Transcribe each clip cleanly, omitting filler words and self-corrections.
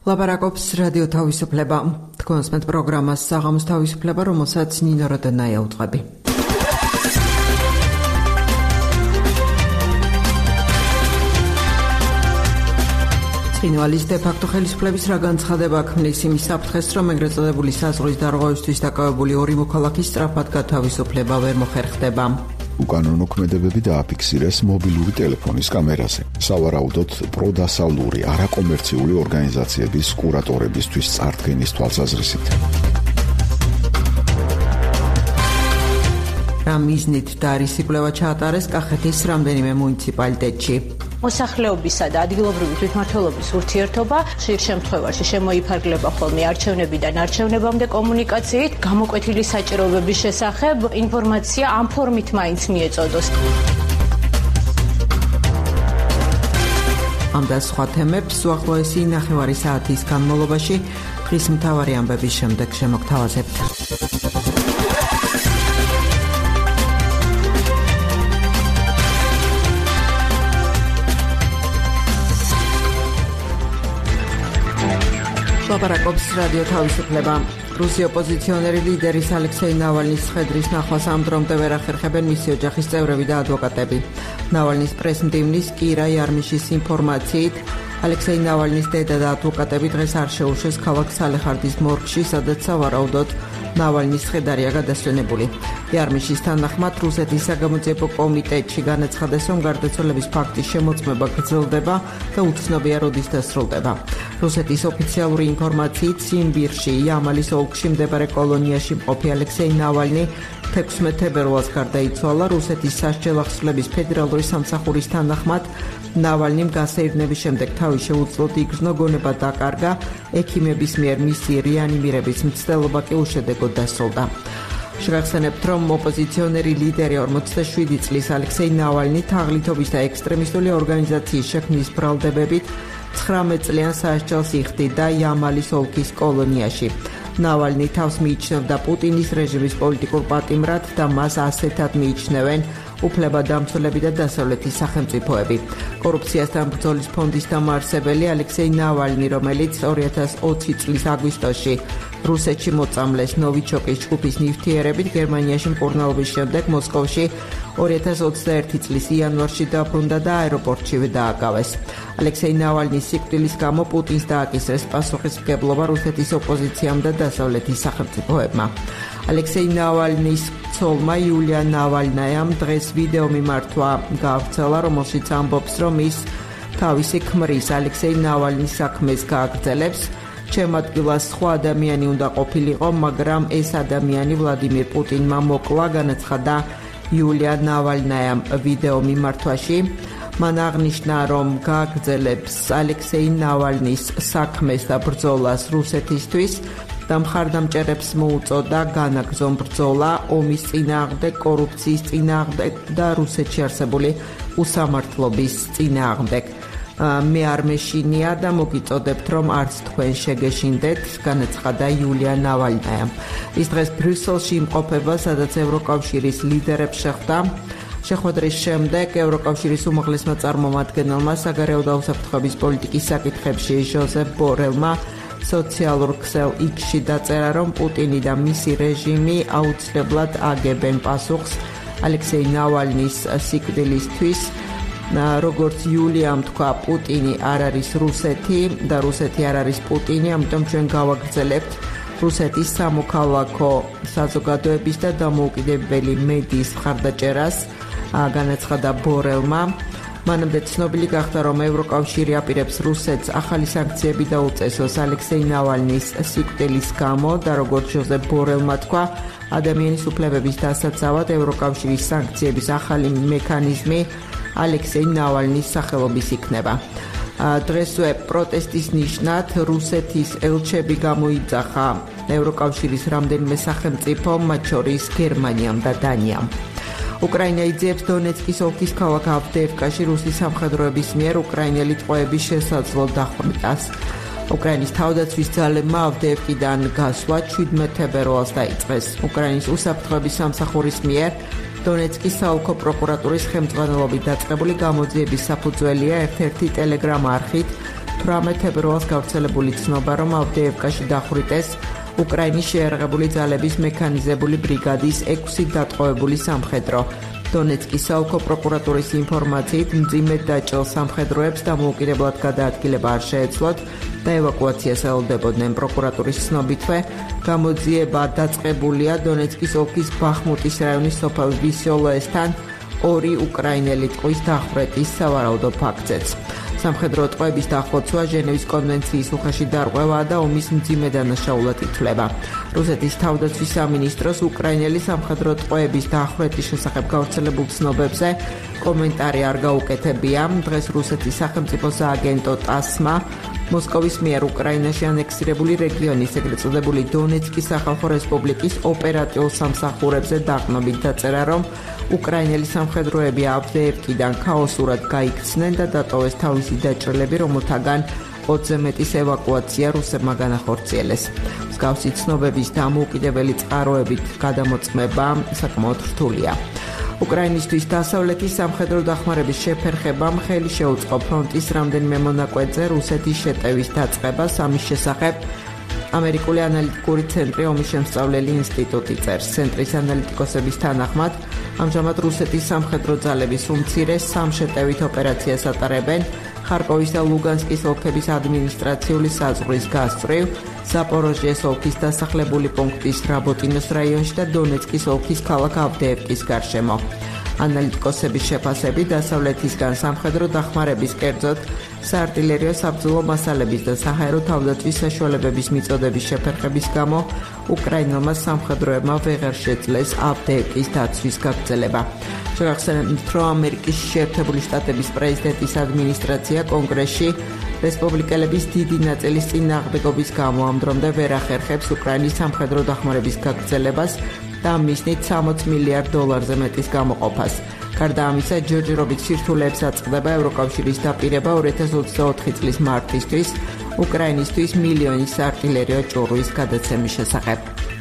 ლაპარაკობს რადიო თავისუფლება. თქვენს მეტ პროგრამას საღამოს თავისუფლება, რომელსაც ნინო როდენაია უძღვები. ცხინვალის დე-ფაქტო ხელისუფლების რა განცხადება ქმნის იმის საფრთხეს, რომ ეგრეთ წოდებული საზღვრის დარღვევისთვის დაკავებული ორი მოქალაქის სწრაფად გათავისუფლება ვერ მოხერხდება. უკანონო ქმედებები დააფიქსირეს მობილური ტელეფონის კამერაზე. სავარაუდოდ პროდასალური არაკომერციული ორგანიზაციების კურატორებისთვის წარდგენის თვალსაზრისით. რა მიზნით და რის იკვლევა ჩაატარეს კახეთის რამდენიმე მუნიციპალიტეტში. მოსახლეობისა და ადგილობრივი თვითმმართველობის ურთიერთობა ხშირ შემთხვევაში შემოიფარგლება ხოლმე არჩევნებიდან არჩევნებამდე კომუნიკაციით, გამოკვეთილი საჭიროებების შესახებ ინფორმაცია ამ ფორმით მაინც მიეწოდოს. ამ და სხვა თემებს უახლოესი 9 საათის განმავლობაში დღის მთავარი ამბების შემდეგ შემოგთავაზებთ. ლაპარაკობს რადიო თავისუფლება. რუსი ოპოზიციონერი ლიდერის ალექსეი ნავალნის ხედრის ნახვას ამ დრომდე ვერ ახერხებენ მისი ოჯახის წევრები და ადვოკატები. ნავალნის პრეს-მდივნის კირა იარმიშის ინფორმაციით, ალექსეი ნავალნის დედა და ადვოკატები დღეს არ შეუშვეს ქალაქ სალეხარდის მორგში, სადაც სავარაუდოდ ნავალნის ხედარია გადასვენებული. იარმიშის თანახმად რუსეთის საგამოძიებო კომიტეტში განაცხადეს, რომ გარდაცვალების ფაქტის შემოწმება გრძელდება და უცნობია როდის დასრულდება. რუსეთის ოფიციალური ინფორმაციით სიმბირში, იამალის ოლქში მდებარე კოლონიაში მყოფი ალექსეი ნავალნი 16 თებერვალს გარდაიცვალა. რუსეთის სასჯელ ახსნების ფედერალური სამსახურის თანახმად ნავალნიმ გასეირნების შემდეგ თავი შეუძლოდ იგრძნო, გონება დაკარგა, ექიმების მიერ მისი რეანიმირების მცდელობა კი უშედეგოდ დასრულდა. შევახსენებთ, რომ ოპოზიციონერი ლიდერი 47 წლის ალექსეი ნავალნი თაღლითობის და ექსტრემისტული ორგანიზაციის შექმნის ბრალდებებით 19 წლიან სასჯელს იხდიდა იამალის ოლქის კოლონიაში. ნავალნი თავს მიიჩნევდა პუტინის რეჟიმის პოლიტიკურ პატიმრად და მას ასეთად მიიჩნევენ უფლებადამცველები და დასავლეთის სახელმწიფოები. კორუფციასთან ბრძოლის ფონდის დამაარსებელი ალექსეი ნავალნი, რომელიც 2020 წლის აგვისტოში რუსეთში მოწამლეს ნოვიჩოკის ჯგუფის ნივთიერებით, გერმანიაში მკურნალობის შემდეგ მოსკოვში 2021 წლის იანვარში დაბრუნდა და აეროპორტშივე დააკავეს. ალექსეი ნავალნის სიკვდილის გამო პუტინს დააკისრეს პასუხისმგებლობა რუსეთის ოპოზიციამ და დასავლეთის სახელმწიფოებმა. ალექსეი ნავალნის ცოლმა იულია ნავალნაიამ დღეს ვიდეო მიმართვა გაავრცელა, რომელშიც ამბობს, რომ ის თავისი ქმრის ალექსეი ნავალნის საქმეს გააგრძელებს. ჩემ ადგილას სხვა ადამიანი უნდა ყოფილიყო, მაგრამ ეს ადამიანი ვლადიმირ პუტინმა მოკლა, განაცხადა იულია ნავალნაიამ ვიდეო მიმართვაში. მან აღნიშნა, რომ გააგრძელებს ალექსეი ნავალნის საქმეს და ბრძოლას რუსეთისთვის და მხარდამჭერებს მოუწოდა განაგრძონ ბრძოლა ომის წინააღმდეგ, კორუფციის წინააღმდეგ და რუსეთში არსებული უსამართლობის წინააღმდეგ. მე არ მეშინია და მოგიწოდებთ, რომ არც თქვენ შეგეშინდეთ, განაცხადა იულია ნავალნაიამ. ის დღეს ბრიუსელში იმყოფება, სადაც ევროკავშირის ლიდერებს შეხვდა. შეხვედრის შემდეგ ევროკავშირის უმაღლესმა წარმომადგენელმა საგარეო და უსაფრთხოების პოლიტიკის საკითხებში ჟოზეფ ბორელმა სოციალურ ქსელ X-ში დაწერა, რომ პუტინი და მისი რეჟიმი აუცილებლად აგებენ პასუხს ალექსეი ნავალნის სიკვდილისთვის. როგორც იულიამ თქვა, პუტინი არ არის რუსეთი და რუსეთი არ არის პუტინი, ამიტომ ჩვენ გავაგრძელებთ რუსეთის სამოქალაქო საზოგადოების და დამოუკიდებელი მედიის მხარდაჭერას, განაცხადა ბორელმა. მანამდე ცნობილი გახდა, რომ ევროკავშირი აპირებს რუსეთს ახალი სანქციები დაუწესოს ალექსეი ნავალნის სიკვდილის გამო და როგორც ჟოზეფ ბორელმა თქვა, ადამიანის უფლებების დასაცავად ევროკავშირის სანქციების ახალი მექანიზმი ალექსეი ნავალნის სახელობის იქნება. დღესვე პროტესტის ნიშნად რუსეთის ელჩები გამოიძახა ევროკავშირის რამდენიმე სახელმწიფომ, მათ შორის გერმანიამ და დანიამ. უკრაინა იძიებს დონეცკის ოლქის ქალაქ ავდეევკაში რუსის სამხედროების მიერ უკრაინელი ტყვეების შესაძლო დახვრიტას. უკრაინის თავდაცვის ძალებმა ავდეევკიდან გასვლა 17 თებერვალს დაიწყეს. უკრაინის უსაფრთხოების სამსახურის მიერ დონეცკის საოლქო პროკურატურის ხელმძღვანელობით დაწყებული გამოძიების საფუძველია ერთ-ერთი ტელეგრამ არხით 18 თებერვალს გავრცელებული ცნობა, რომ ავდეევკაში დახვრიტეს უკრაინის შეიარაღებული ძალების მექანიზებული ბრიგადის 6 დატყვევებული სამხედრო. დონეცკის საოლქო პროკურატურის ინფორმაციით მძიმედ დაჭრილ სამხედროებს დამოუკიდებლად გადაადგილება არ შეეძლოთ და ევაკუაციას ელოდებოდნენ. პროკურატურის ცნობითვე გამოძიება დაწყებულია დონეცკის ოლქის ბახმუტის რაიონის სოფელ ვისიოლოესთან 2 უკრაინელი ტყვის დახვრეტის სავარაუდო ფაქტზეც. სამხედრო ტყვეების დახოცვა ჟენევის კონვენციის უხეში დარღვევაა და ომის მძიმე დანაშაულად ითვლება. რუსეთის თავდაცვის სამინისტროს უკრაინელი სამხედრო ტყვეების დახვრეტის შესახებ გავრცელებულ ცნობებზე კომენტარი არ გაუკეთებია. დღეს რუსეთის სახელმწიფო სააგენტო ტასმა მოსკოვის მიერ უკრაინაში ანექსირებული რეგიონის ეგრეთ წოდებული დონეცკის სახალხო რესპუბლიკის ოპერატიულ სამსახურებზე დაყნობით დაწერა, რომ უკრაინელი სამხედროები ავდეევკიდან ქაოსურად გაიქცნენ და დატოვეს თავისი დაჭრილები, რომელთაგან 20-ზე მეტის ევაკუაცია რუსებმა განახორციელეს. მსგავსი ცნობების დამოუკიდებელი წყაროებით გადამოწმება საკმაოდ რთულია. უკრაინისთვის დასავლეთის სამხედრო დახმარების შეფერხებამ ხელი შეუწყო ფრონტის რამდენიმე მონაკვეთზე რუსეთის შეტევის დაწყებას. ამის შესახებ ამერიკული ანალიტიკური ცენტრი ომის შემსწავლელი ინსტიტუტი წერს. ცენტრის ანალიტიკოსების თანახმად, ამჟამად რუსეთის სამხედრო ძალების უმცირეს სამშეტევით ოპერაციას ატარებენ ხარკოვის და ლუგანსკის ოლქების ადმინისტრაციული საზღვრის გასწვრივ, ზაპოროჟიეს ოლქის დასახლებული პუნქტის რაბოტინოს რაიონში და დონეცკის ოლქის ქალაქ ავდეევკის გარშემო. ანალიტიკოსების შეფასებით, დასავლეთისგან სამხედრო დახმარების, კერძოდ საარტილერიო საბრძოლო მასალების და საჰაერო თავდაცვის საშუალებების მიწოდების შეფერხების გამო უკრაინელმა სამხედროებმა ვეღარ შეძლეს ავდეევკის დაცვის გაგრძელება. შეგახსენებთ, რომ ამერიკის შეერთებული შტატების პრეზიდენტის ადმინისტრაცია კონგრესში რესპუბლიკელების დიდი ნაწილის წინააღმდეგობის გამო ამ დრომდე ვერ ახერხებს უკრაინის სამხედრო დახმარების გაგრძელებას და მისნით $60 მილიარდზე მეტის გამოყოფას. გარდა ამისა, ჯერჯერობით სირთულეებს აწყდება ევროკავშირის დაპირება 2024 წლის მარტისთვის უკრაინისთვის მილიონის არტილერიო ჭურვის გადაცემის შესახებ.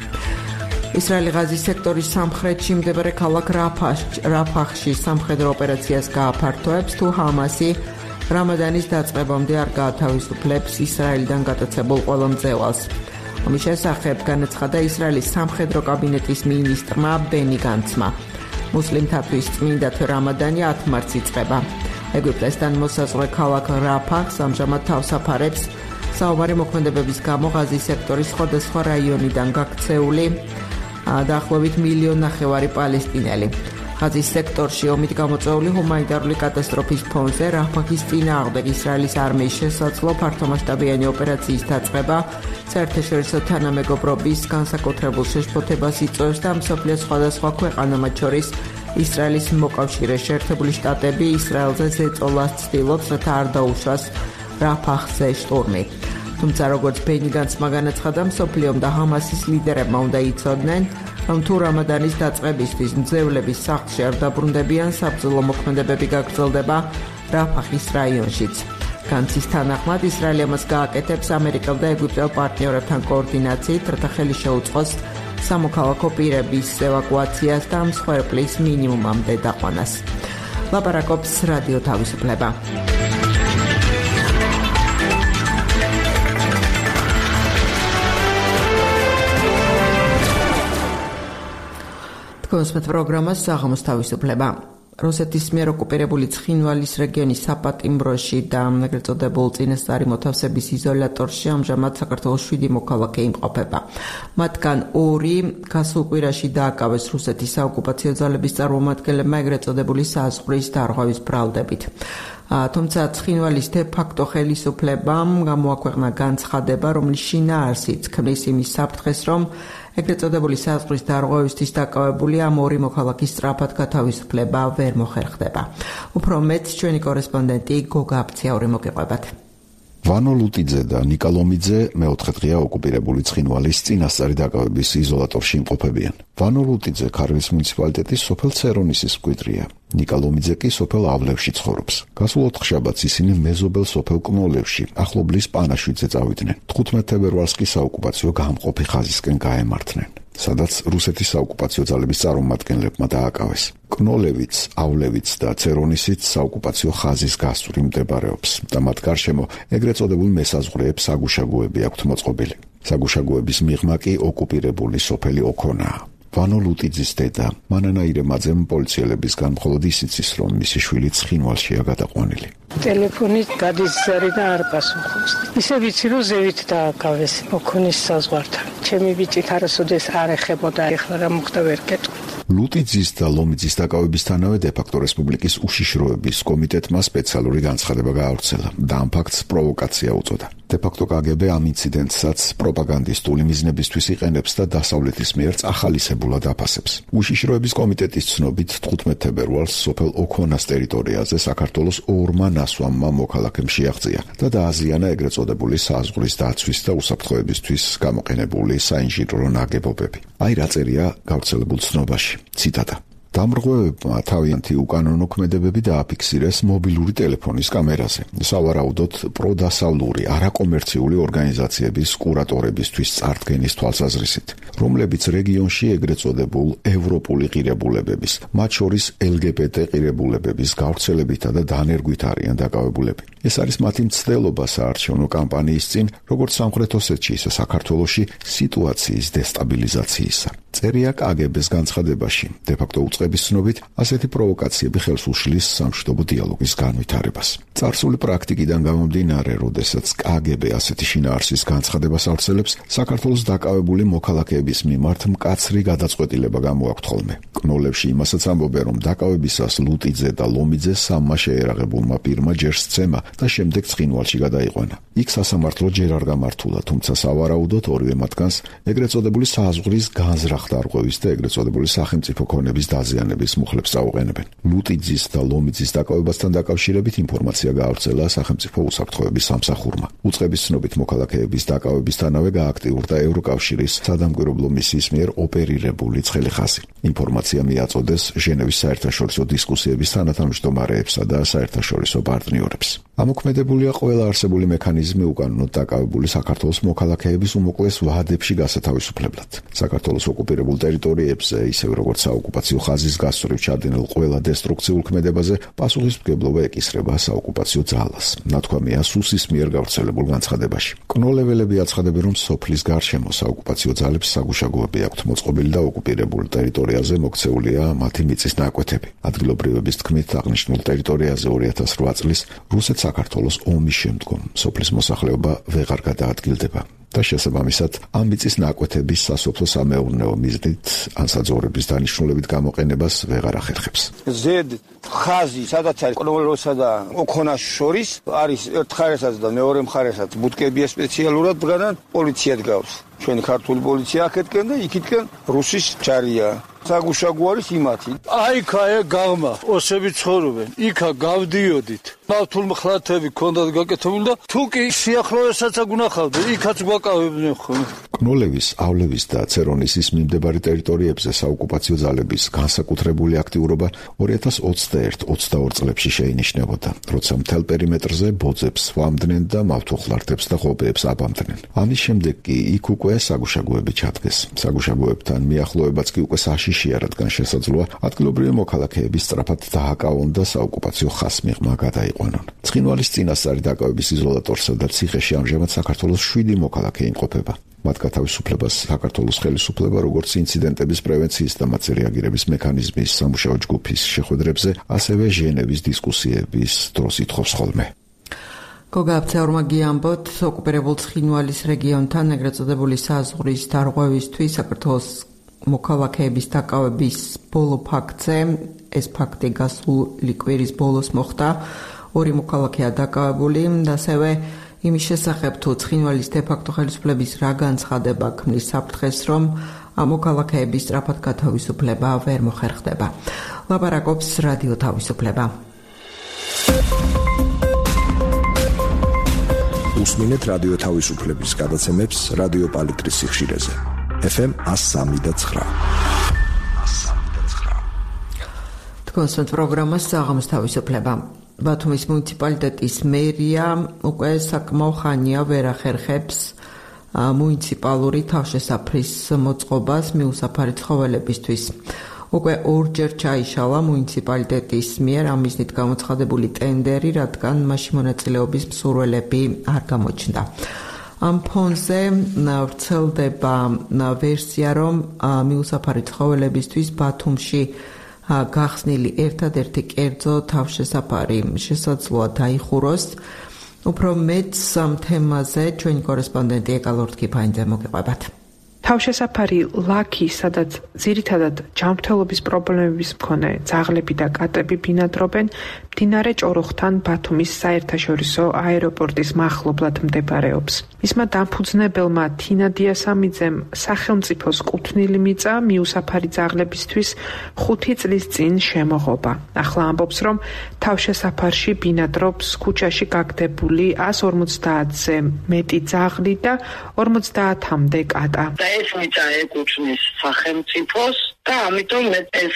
ისრაელი ღაზის სექტორის სამხრეთში მდებარე ქალაქ რაფახში სამხედრო ოპერაციას გააფართოებს, თუ ჰამასი რამადანის დაწყებამდე არ გაათავისუფლებს ისრაელიდან გატაცებულ ყველა მძევალს. ომის შესახებ განაცხადა ისრაელის სამხედრო კაბინეტის მინისტრმა ბენი განცმა. მუსლიმთათვის წმინდა თვე რამადანი 10 მარტს იწყება. ეგვიპტესთან მოსაზღვრე ქალაქ რაფახს ამჟამად თავს აფარებს საომარი მოქმედებების გამო ღაზის სექტორის სხვადასხვა რაიონიდან გაქცეული დაახლოებით 1,5 მილიონი პალესტინელი. ღაზის სექტორში ომით გამოწვეული ჰუმანიტარული კატასტროფის ფონზე რაფახის წინააღმდეგ ისრაელის არმიის შესაძლო ფართომასშტაბიანი ოპერაციის დაწყება საერთაშორისო თანამეგობრობის განსაკუთრებულ შეშფოთებას იწვევს და მსოფლიოს სხვადასხვა ქვეყანა, მათ შორის ისრაელის მოკავშირე შეერთებული შტატები ისრაელზე ზეწოლას ცდილობს, რათა არ დაუშვას რაფახზე შტურმი. თუმცა, როგორც ბენი განცმა განაცხადა, მსოფლიომ და ჰამასის ლიდერებმა უნდა იცოდნენ, რომ თუ რამადანის დაწყებისთვის მძევლების სახლში არ დაბრუნდებიან, საბრძოლო მოქმედებები გაგრძელდება რაფახის რაიონშიც. განცის თანახმად, ისრაელი ამას გააკეთებს ამერიკელ და ეგვიპტელ პარტნიორებთან კოორდინაციით, რათა ხელი შეუწყოს სამოქალაქო პირების ევაკუაციას და მსხვერპლის მინიმუმამდე დაყვანას. ლაპარაკობს რადიო თავისუფლება. თქოს პროგრამას საღამოს თავისუფლება. რუსეთის მიერ ოკუპირებული ცხინვალის რეგიონის საპატიმროში და ეგრეთ წოდებულ წინასწარი მოთავსების იზოლატორში ამჟამად საქართველოს 7 მოქალაქე იმყოფება. მათგან 2 გასულ კვირაში დააკავეს რუსეთის საოკუპაციო ძალების წარმომადგენლებმა ეგრეთ წოდებული საზღვრის დარღვევის ბრალდებით. თუმცა ცხინვალის დე-ფაქტო ხელისუფლებამ გამოაქვეყნა განცხადება, რომლის შინაარსიც ქმნის იმის საფრთხეს, რომ ეგრეთ წოდებული საზღვრის დარღვევისთვის დაკავებული ამ 2 მოქალაქის სწრაფად გათავისუფლება ვერ მოხერხდება. უფრო მეტ ჩვენი კორესპონდენტი გოგა აფციაური მოგიყვებათ. ვანო ლუტიძე და ნიკა ლომიძე მეოთხე დღეა ოკუპირებული ცხინვალის წინასწარი დაკავების იზოლატორში იმყოფებიან. ვანო ლუტიძე ქარვის მუნიციპალიტეტის სოფელ ცერონისის მკვიდრია. ნიკა ლომიძე კი სოფელ ავლევში ცხოვრობს. გასულ ოთხშაბათს ისინი მეზობელ სოფელ კნოლევში, ახლობლის პანაშვიდზე წავიდნენ. 15 თებერვალს კი საოკუპაციო გამყოფი ხაზისკენ გაემართნენ. სადაც რუსეთის საოკუპაციო ძალების წარმომადგენლებმა დააკავეს. კნოლევიც,ავლევიც და ცერონისიც საოკუპაციო ხაზის გასწვრივ მდებარეობს და მათ გარშემო ეგრეთ წოდებულ მესაზღვრეებს საგუშაგოები აქვთ მოწყობილი. საგუშაგოების მიღმა კი ოკუპირებული სოფელი ოქონაა. ვანო ლუტიძის დედა მანანა ირემაძემ პოლიციელებისგან მხოლოდ ისიც ის, რომ მისი შვილი ცხინვალშია გადაყვანილი. ტელეფონით გადის ზარი და არ პასუხობს. ისე ვიცი, რომ ზევით დააკავეს ოქონის საზღვართან. ჩემი ბიჭით არასოდეს არ ეხებოდა, ეხლა რა მოხდა ვერ გეტყვით. ლუტიძის და ლომიძის დაკავებისთანავე დე-ფაქტო რესპუბლიკის უშიშროების კომიტეტმა სპეციალური განცხადება გაავრცელა და ამ ფაქტს პროვოკაცია უწოდა. დე-ფაქტო KGB ამ ინციდენტსაც პროპაგანდისტული მიზნებისთვის იყენებს და დასავლეთის მიერ ახალისებურად აფასებს. უშიშროების კომიტეტის ცნობით 15 თებერვალს სოფელ ოქონას ტერიტორიაზე საქართველოს ორმა ნასვამმა მოქალაქემ შეაღწია და დააზიანა ეგრეთ წოდებული საზღვრის დაცვის და უსაფრთხოებისთვის გამოყენებული საინჟინრო ნაგებობები. აი რა წერია გავრცელებულ ცნობაში. ციტატა. დამრღვევებმა თავიანთი უკანონო ქმედებები დააფიქსირეს მობილური ტელეფონის კამერაზე. სავარაუდოდ პროდასავლური არაკომერციული ორგანიზაციების კურატორებისთვის წარდგენის თვალსაზრისით, რომლებიც რეგიონში ეგრეთ წოდებულ ევროპული ღირებულებების, მათ შორის LGBT ღირებულებების გავრცელებითა და დანერგვით არიან დაკავებულები. ეს არის მათი მცდელობა საარჩევნო კამპანიის წინ, როგორც სამხრეთ ოსეთში, ისე საქართველოში სიტუაციის დესტაბილიზაციისა. წერია KGB-ს განცხადებაში, დე-ფაქტო უწყების ცნობით, ასეთი პროვოკაციები ხელს უშლის სამშვიდობო დიალოგის განვითარებას. წარსული პრაქტიკიდან გამომდინარე, როდესაც KGB ასეთი შინაარსის განცხადებას ავრცელებს, საქართველოს დაკავებული მოქალაქეების მიმართ მკაცრი გადაწყვეტილება გამოაქვთ ხოლმე. კნოლებში იმასაც ამბობენ, რომ დაკავებისას ლუტიძე და ლომიძე სამმა შეერაღებულმა პირმა ჯერ სცემა და შემდეგ ცხინვალში გადაიყვანა. იქ სასამართლო ჯერ არ გამართულა, თუმცა სავარაუდოდ ორივე მათგანს ეგრეთ წოდებული საზღვრის განზრახდარღვევის და ეგრეთ წოდებული სახელმწიფო ქონების დაზიანების მუხლებს წაუყენებენ. ლუტიძის და ლომიძის დაკავებასთან დაკავშირებით ინფორმაცია გაავრცელა სახელმწიფო უსაფრთხოების სამსახურმა. უწყების ცნობით მოქალაქეების დაკავებისთანავე გააქტიურდა ევროკავშირის სადამკვირვებლო მისიის მიერ ოპერირებული ცხელი ხაზი. ინფორმაცია მიაწოდეს ჟენევის საერთაშორისო დისკუსიების თანათავმჯდომარეებსა და საერთაშორისო პარტნიორებს. ამოქმედებულია ყველა არსებული მექანიზმი უკანონოდ დაკავებული საქართველოს მოქალაქეების უმოკლეს ვადებში გასათავისუფლებლად. საქართველოს ოკუპირებულ ტერიტორიებზე, ისევე როგორც საოკუპაციო ხაზის გასწვრივ ჩადენილ ყველა დესტრუქციულ ქმედებაზე პასუხისმგებლობა ეკისრება საოკუპაციო ძალას. ნათქვამია სუსის მიერ გავრცელებულ განცხადებაში. კნოლეველები აცხადებენ, რომ სოფლის გარშემო საოკუპაციო ძალებს საგუშაგოები აქვთ მოწყობილი და ოკუპირებულ ტერიტორიაზე მოქცეულია მათი მიწის ნაკვეთები. ადგილობრივების თქმით, აღნიშნულ ტერიტორიაზე 2008 წლის რუსეთ-საქართველოს ომის შემდგომ სოფლის მოსახლეობა ვეღარ გადაადგილდება. და შესაბამისად ამ მიწის ნაკვეთების სასოფლო-სამეურნეო მიზნით ან საძოვრების დანიშნულებით გამოყენებას ვეღარ ახერხებს. ზედ ხაზი, სადაც არის კნოლოსა და ოქონას შორის, არის ერთ მხარესაც და მეორე მხარესაც ბუდკებია სპეციალურად დგანან, პოლიცია დგავს. ჩვენი ქართული პოლიცია აქეთკენ და იქითკენ რუსის ჯარია. საგუშაგო არის იმათი. აიქა გაღმა, ოსები ცხოვრობენ. იქა გავდიოდით. მავთულ მხლათები ქონდათ გაკეთებული და თუ კი სიახლოვესაც აგუნახავდა, იქაც გვაკავებდნენ ხოლმე. კნოლევის,ავლევის და ცერონისის მიმდებარე ტერიტორიებზე საოკუპაციო ძალების განსაკუთრებული აქტიურობა 2021-22 წლებში შეინიშნებოდა, როცა მთელ პერიმეტრზე ბოძებს სვამდნენ და მავთულხლართებს და ღობეებს აბამდნენ. ამის შემდეგ კი იქ უკვე საგუშაგოები ჩადგეს. საგუშაგოებთან მიახლოებაც კი უკვე საშიშია, რადგან შესაძლოა ადგილობრივი მოქალაქეების სწრაფად დააკავონ და საოკუპაციო ხაზს მიღმა გადაიყვანონ. ცხინვალის წინასწარი დაკავების იზოლატორსა და ციხეში ამჟამად საქართველოს 7 მოქალაქე იმყოფება. მათ გათავისუფლებას საქართველოს ხელისუფლება როგორც ინციდენტების პრევენციის და მათზე რეაგირების მექანიზმის სამუშაო ჯგუფის შეხვედრებზე, ასევე ჟენევის დისკუსიების დროს ითხოვს ხოლმე. გოგა აფცეურმა გიამბოთ, ოკუპირებულ ცხინვალის რეგიონთან ეგრეთ წოდებული საზღვრის დარღვევისთვის საქართველოს მოქალაქეების დაკავების ბოლო ფაქტზე, ეს ფაქტი გასული კვირის ბოლოს მოხდა, 2 მოქალაქეა დაკავებული და ასევე იმის შესახებ თუ ცხინვალის დე-ფაქტო ხელისუფლების რა განცხადება ქმნის საფრთხეს, რომ ამ მოქალაქეების სწრაფად გათავისუფლება ვერ მოხერხდება. ლაპარაკობს რადიო თავისუფლება. უსმინეთ რადიო თავისუფლების გადაცემებს რადიო პალიტრის სიხშირეზე. FM 103.9. თქვენს პროგრამას საღამოს თავისუფლება. ბათუმის მუნიციპალიტეტის მერია უკვე საკმაო ხანია ვერ ახერხებს მუნიციპალური თავშესაფრის მოწყობას მიუსაფარი ცხოველებისთვის. უკვე ორჯერ ჩაიშალა მუნიციპალიტეტის მიერ ამ მიზნით გამოცხადებული ტენდერი, რადგან მასში მონაწილეობის მსურველები არ გამოჩნდა. ამ ფონზე ვრცელდება ვერსია, რომ მიუსაფარი ცხოველებისთვის ბათუმში გახსნილი ერთადერთი კერძო თავშესაფარი შესაძლოა დაიხუროს. უფრო მეც ამ თემაზე ჩვენი კორესპონდენტი ეკალორთ კიფაინძე მოგეყვებათ. თავშესაფარი ლაქი, სადაც ძირითადად ჯანმრთელობის პრობლემების მქონე ძაღლები და კატები ბინადრობენ, მდინარე ჭოროხთან ბათუმის საერთაშორისო აეროპორტის მახლობლად მდებარეობს. მისმა დამფუძნებელმა თინა დიასამიძემ სახელმწიფოს კუთვნილი მიწა მიუსაფარი ძაღლებისთვის 5 წლის წინ შემოღობა. ახლა ამბობს, რომ თავშესაფარში ბინადრობს ქუჩაში გაგდებული 150-ზე მეტი ძაღლი და 50-მდე კატა. ეს მიწა ეკუთვნის სახელმწიფოს და ამიტომ ეს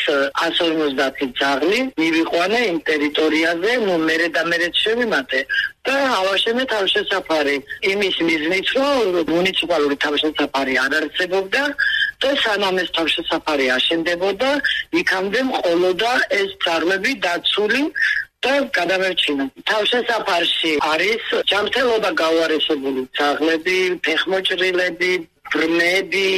150 ძაღლი მივიყვანე იმ ტერიტორიაზე, მერე და მერე შევიმატე და ავაშენე თავშესაფარი. იმის მიზნით, რომ მუნიციპალური თავშესაფარი არ არსებობდა და სანამ ეს თავშესაფარი აშენდებოდა, იქამდე მყოლოდა ეს ძაღლები დაცული და გადამერჩინა. თავშესაფარში არის ჯანმრთელობა გაუარესებული ძაღლები, ფეხმოჭრილები, ბრმები,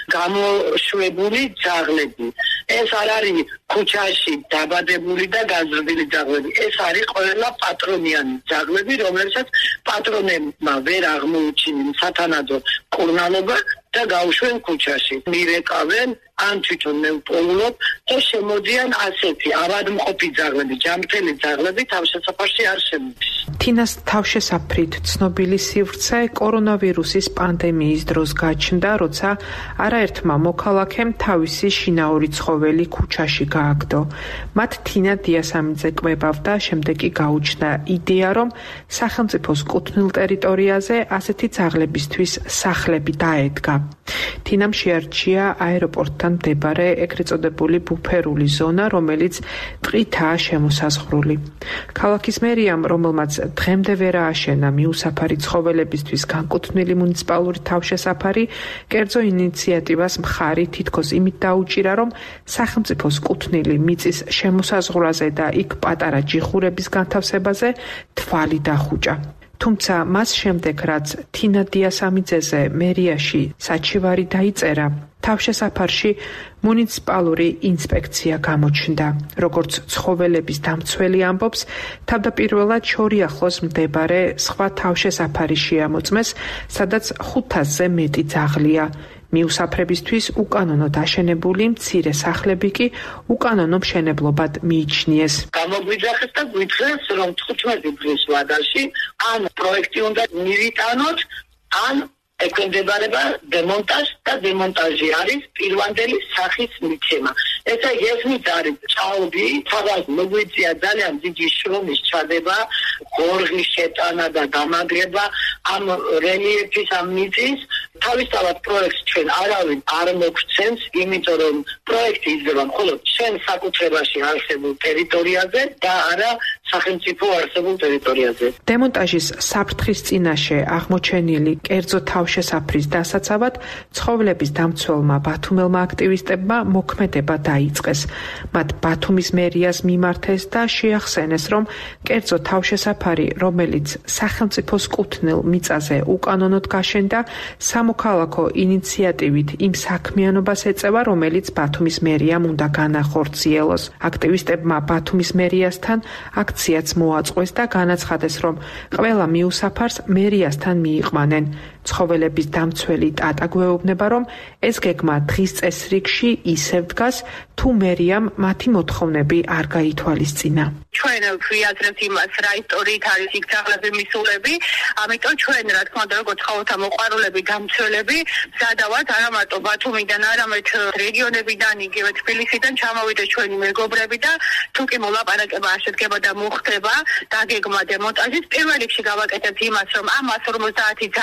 გამოშვებული ძაღლები. ეს არ არის ქუჩაში დაბადებული და გაზრდილი ძაღლები. ეს არის ყველა პატრონიანი ძაღლები, რომელსაც პატრონებმა ვერ აღმოუჩინეს სათანადო მკურნალობა და გაუშვენ ქუჩაში. მირეკავენ ან თვითონ მე ვპოულობ და შემოდიან ასეთი ავადმყოფი ძაღლები, ჯანმრთელი ძაღლები თავშესაფარში არ შემოდის. თინას თავშესაფრით ცნობილი სივრცე კორონავირუსის პანდემიის დროს გაჩნდა, როცა არაერთმა მოქალაქემ თავისი შინაური ცხოველი ქუჩაში გააგდო. მათ თინა დიასამიძე კვებავდა, შემდეგ კი გაუჩნდა იდეა, რომ სახელმწიფოს კუთვნილ ტერიტორიაზე ასეთი ძაღლებისთვის სახლები დაედგა. თინამ შეარჩია აეროპორტთან მდებარე ეგრეთ წოდებული ბუფერული ზონა, რომელიც ტყითაა შემოსაზღვრული. ქალაქის მერიამ, რომელმაც დღემდე ვერ ააშენა მიუსაფარი ცხოველებისთვის განკუთვნილი მუნიციპალური თავშესაფარი, კერძო ინიციატივას მხარი თითქოს იმით დაუჭირა, რომ სახელმწიფოს კუთვნილი მიწის შემოსაზღვრაზე და იქ პატარა ჯიხურების განთავსებაზე თვალი დახუჭა. თუმცა მას შემდეგ, რაც თინა დიასამიძეზე მერიაში საჩივარი დაიწერა, თავშესაფარში მუნიციპალური ინსპექცია გამოჩნდა. როგორც ცხოველების დამცველი ამბობს, თავდაპირველად შორიახლოს მდებარე სხვა თავშესაფარი შეამოწმეს, სადაც 500-ზე მეტი ძაღლია. მიუსაფრებისთვის უკანონოდ აშენებული მცირე სახლები კი უკანონო მშენებლობად მიიჩნიეს. გამოგვიძახეს და გვითხეს, რომ 15 დღის ვადაში ან პროექტი უნდა მივიტანოთ, ან ექვემდებარება დემონტაჟ და დემონტაჟი არის პირვანდელი სახის მიცემა. ესა ესმით არის ჭაობი, სადაც მოგვიწია ძალიან დიდი შრომის ჩადება, გორღის შეტანა და დამაგრება ამ რელიეფის ამ მიწის. თავისთავად პროექტს ჩვენ არავინ არ მოგცემს, იმიტომ რომ პროექტი იძლევა მხოლოდ ჩვენ საკუთრებაში არსებულ ტერიტორიაზე და არა სახელმწიფო არსებულ ტერიტორიაზე. დემონტაჟის საფრთხის წინაშე აღმოჩენილი კერძო თავშესაფრის დასაცავად ცხოველების დამცველმა ბათუმელმა აქტივისტებმა მოქმედება დაიწყეს. მათ ბათუმის მერიას მიმართეს და შეახსენეს, რომ კერძო თავშესაფარი, რომელიც სახელმწიფოს კუთვნილ მიწაზე უკანონოდ გაშენდა, სამოქალაქო ინიციატივით იმ საქმიანობას ეწევა, რომელიც ბათუმის მერიამ უნდა განახორციელოს. აქტივისტებმა ბათუმის მერიასთან აქციაც მოაწყვეს და განაცხადეს, რომ ყველა მიუსაფარს მერიასთან მიიყვანენ. ცხოველების დამცველი ტატა გვეუბნება, რომ ეს გეგმა დღის წესრიგში ისევ დგას, თუ მერიამ მათი მოთხოვნები არ გაითვალისწინა. ჩვენ ვიაზრებთ იმას, რა ისტორიით არის იქ ძაღლები მისულები, ამიტომ ჩვენ, რა თქმა უნდა, როგორც ცხოველთა მოყვარულები, დამცველები, მზადავართ არა მარტო ბათუმიდან, არამედ რეგიონებიდან, იგივე თბილისიდან ჩამოვიდეს ჩვენი მეგობრები და თუ კი მოლაპარაკება არ შედგება და მოხდება დაგეგმა დემონტაჟის, პირველ რიგში გავაკეთებთ იმას, რომ ამ 150 ძაღლით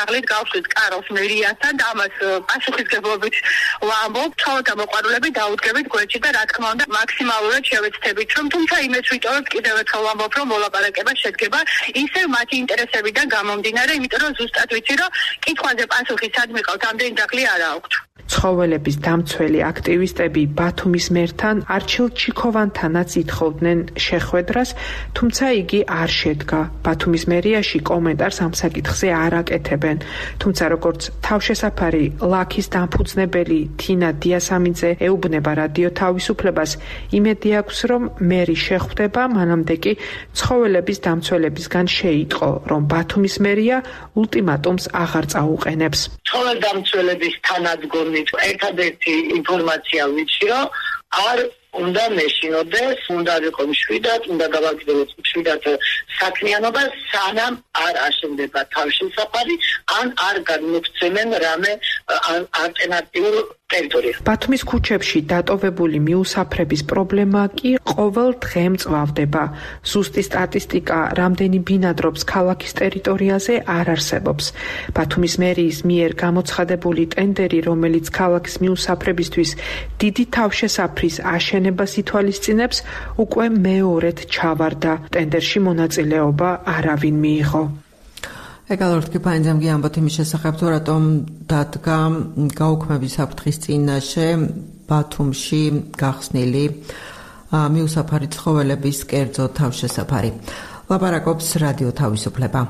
გავხსნით კაროს მერიასთან და ამას პასუხისგებლობით ვამბობ, ცხოველთა მოყვარულები დაუდგებით გვერდში და რა თქმა უნდა მაქსიმალურად შევეცდებით, რომ თუმცა იმეც ვიტოვებთ კიდევ ერთხელ ვამბობ, რომ მოლაპარაკება შედგება ისევ მათი ინტერესებიდან გამომდინარე, იმიტომ რომ ზუსტად ვიცი, რომ კითხვაზე პასუხი სად მიყავთ, ამდენი დაღლი არ აქვთ. ცხოველების დამცველი აქტივისტები ბათუმის მერთან არჩილ ჩიქოვანთანაც ითხოვდნენ შეხვედრას, თუმცა იგი არ შედგა. ბათუმის მერიაში კომენტარს ამ საკითხზე არ აკეთებენ. თუმცა როგორც თავშესაფარი ლაქის დამფუძნებელი თინა დიასამიძე ეუბნება რადიო თავისუფლებას, იმედი აქვს, რომ მერი შეხვდება, მანამდე კი ცხოველების დამცველებისგან შეიტყო, რომ ბათუმის მერია ულტიმატუმს აღარ წაუყენებს. ცხოველდამცველების თანადგომი ერთადერთი ინფორმაცია ვიცი, რომ არ უნდა მეშინოდეს, უნდა იყო მშვიდად, უნდა გავაგრძელოს მშვიდად საქმიანობა, სანამ არ აშენდება თავშესაფარი, ან არ განმოგვცემენ რამე ალტერნატიულ ტერიტორიას. ბათუმის ქუჩებში დატოვებული მიუსაფრების პრობლემა კი ყოველ დღე მწვავდება. ზუსტი სტატისტიკა, რამდენი ბინადრობს ქალაქის ტერიტორიაზე, არ არსებობს. ბათუმის მერიის მიერ გამოცხადებული ტენდერი, რომელიც ქალაქის მიუსაფრებისთვის დიდი თავშესაფრის აშენებას ითვალისწინებს, უკვე მეორედ ჩავარდა. ტენდერში მონაწილეობა არავინ მიიღო. ეკალორთკი პაინძემგი ამბობთ იმის შესახებ, თუ რატომ დადგა გაუქმების საფრთხის წინაშე ბათუმში გახსნილი მიუსაფარი ცხოველების კერძო თავშესაფარი. ლაპარაკობს რადიო თავისუფლება.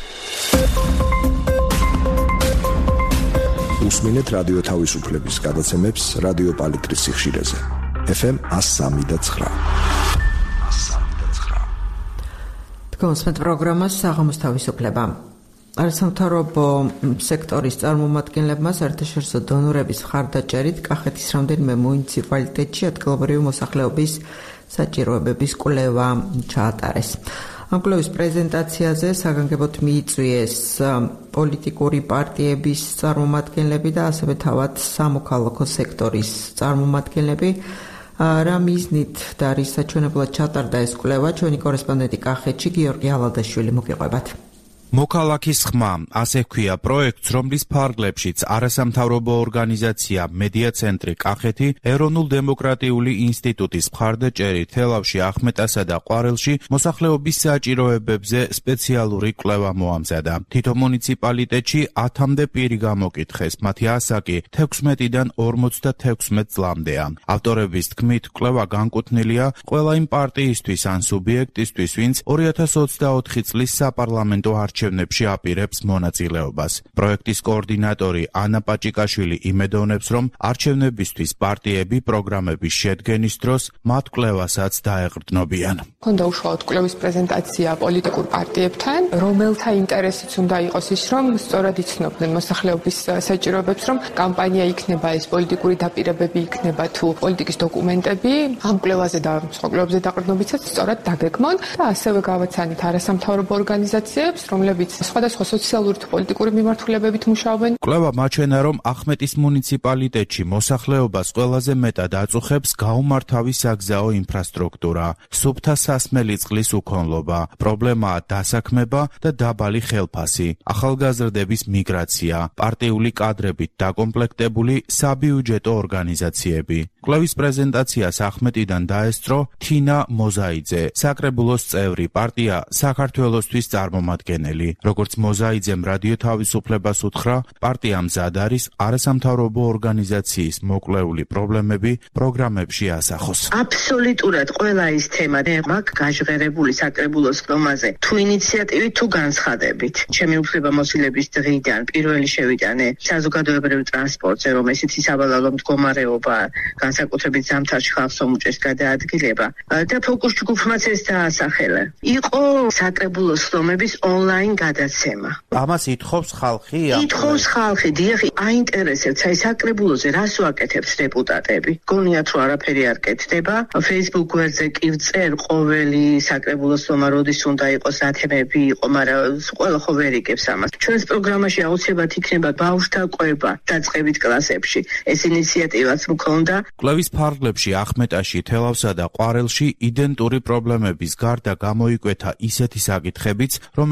უსმინეთ რადიო თავისუფლების გადაცემებს რადიო პალიტრის სიხშირეზე. FM 103.9. თქვენს პროგრამას საღამოს თავისუფლება. არასამთავრობო სექტორის წარმომადგენლებმა საერთაშორისო დონორების მხარდაჭერით კახეთის რამდენიმე მუნიციპალიტეტში ადგილობრივი მოსახლეობის საჭიროებების კვლევა ჩაატარეს. ამ კვლევის პრეზენტაციაზე საგანგებოდ მიიწვიეს პოლიტიკური პარტიების წარმომადგენლები და ასევე თავად სამოქალაქო სექტორის წარმომადგენლები. რა მიზნით და რის საჩვენებლად ჩატარდა ეს კვლევა, ჩვენი კორესპონდენტი კახეთში გიორგი ალადაშვილი მოგიყვებათ. მოქალაქის ხმა, ასე ჰქვია პროექტს, რომლის ფარგლებშიც არასამთავრობო ორგანიზაცია მედია ცენტრი კახეთი, ეროვნულ დემოკრატიული ინსტიტუტის მხარდაჭერით თელავში, ახმეტასა და ყვარელში მოსახლეობის საჭიროებებზე სპეციალური კვლევა მოამზადა. თითო მუნიციპალიტეტში 10-მდე პირი გამოკითხეს, მათი ასაკი 16-დან 56 წლამდეა. ავტორების თქმით, კვლევა განკუთვნილია ყველა იმ პარტიისთვის ან სუბიექტისთვის, ვინც 2024 წლის საპარლამენტო არჩევნებში აპირებს მონაწილეობას. პროექტის კოორდინატორი ანა პაჭიკაშვილი იმედოვნებს, რომ არჩევნებისთვის პარტიები პროგრამების შედგენის დროს მათ კვლევასაც დაეყრდნობიან. ქონდა უშუალოდ კვლევის პრეზენტაცია პოლიტიკურ პარტიებთან, რომელთა ინტერესიც უნდა იყოს ის, რომ სწორად იცნობდნენ მოსახლეობის საჭიროებებს, რომ კამპანია იქნება, ეს პოლიტიკური დაპირებები იქნება თუ პოლიტიკის დოკუმენტები, ამ კვლევაზე და სხვა კვლევებზე დაყრდნობიცაც სწორად დაგეგმონ და ასევე გავაცანით არასამთავრობო ორგანიზაციებს, რომლებიც სხვადასხვა სოციალური თუ პოლიტიკური მიმართულებებით მუშაობენ. კვლევა მაჩვენა, რომ ახმეტის მუნიციპალიტეტში მოსახლეობას ყველაზე მეტად აწუხებს გაუმართავი საგზაო ინფრასტრუქტურა, სუფთა სასმელი წყლის უქონლობა, პრობლემაა დასაქმება და დაბალი ხელფასი, ახალგაზრდების მიგრაცია, პარტიული კადრებით დაკომპლექტებული საბიუჯეტო ორგანიზაციები. კვლევის პრეზენტაციას ახმეტიდან დაესწრო თინა მოზაიძე, საკრებულოს წევრი, პარტია საქართველოსთვის წარმომადგენელი. როგორც მოზაიძემ რადიო თავისუფლებას უთხრა, პარტია მზად არის არასამთავრობო ორგანიზაციის მოკვლეული პრობლემები პროგრამებში ასახოს. აბსოლუტურად ყველა ის თემა მაქვს გაჟღერებული საკრებულოს ხდომაზე, თუ ინიციატივით, თუ განცხადებით. ჩემი უფლებამოსილების დღიდან პირველი შევიტანე საზოგადოებრივ ტრანსპორტზე, რომ ესეთი სავალალო მდგომარეობა განსაკუთრებით ზამთარში ხალხს უმჭირს გადაადგილება და ფოკუს ჯგუფმაც ეს დაასახელა. იყო საკრებულოს ხდომების ონლაინ გადაცემა. ამას ითხოვს ხალხი? ითხოვს ხალხი, დიახი, აინტერესებთ, აი საკრებულოზე რას ვაკეთებთ დეპუტატები? გონიათ რომ არაფერი არ კეთდება. Facebook გვერდზე კი ვწერ ყოველი საკრებულოს ხდომა როდის უნდა იყოს, რა თემები იყო, მაგრამ ყველა ხო ვერ იგებს ამას. ჩვენს პროგრამაში აუცილებლად იქნება ბავშვთა კვება დაწყებით კლასებში. ეს ინიციატივაც მქონდა. კვლევის ფარგლებში ახმეტაში, თელავსა და ყვარელში იდენტური პრობლემების გარდა გამოიკვეთა ისეთი საკითხებიც, რომელიც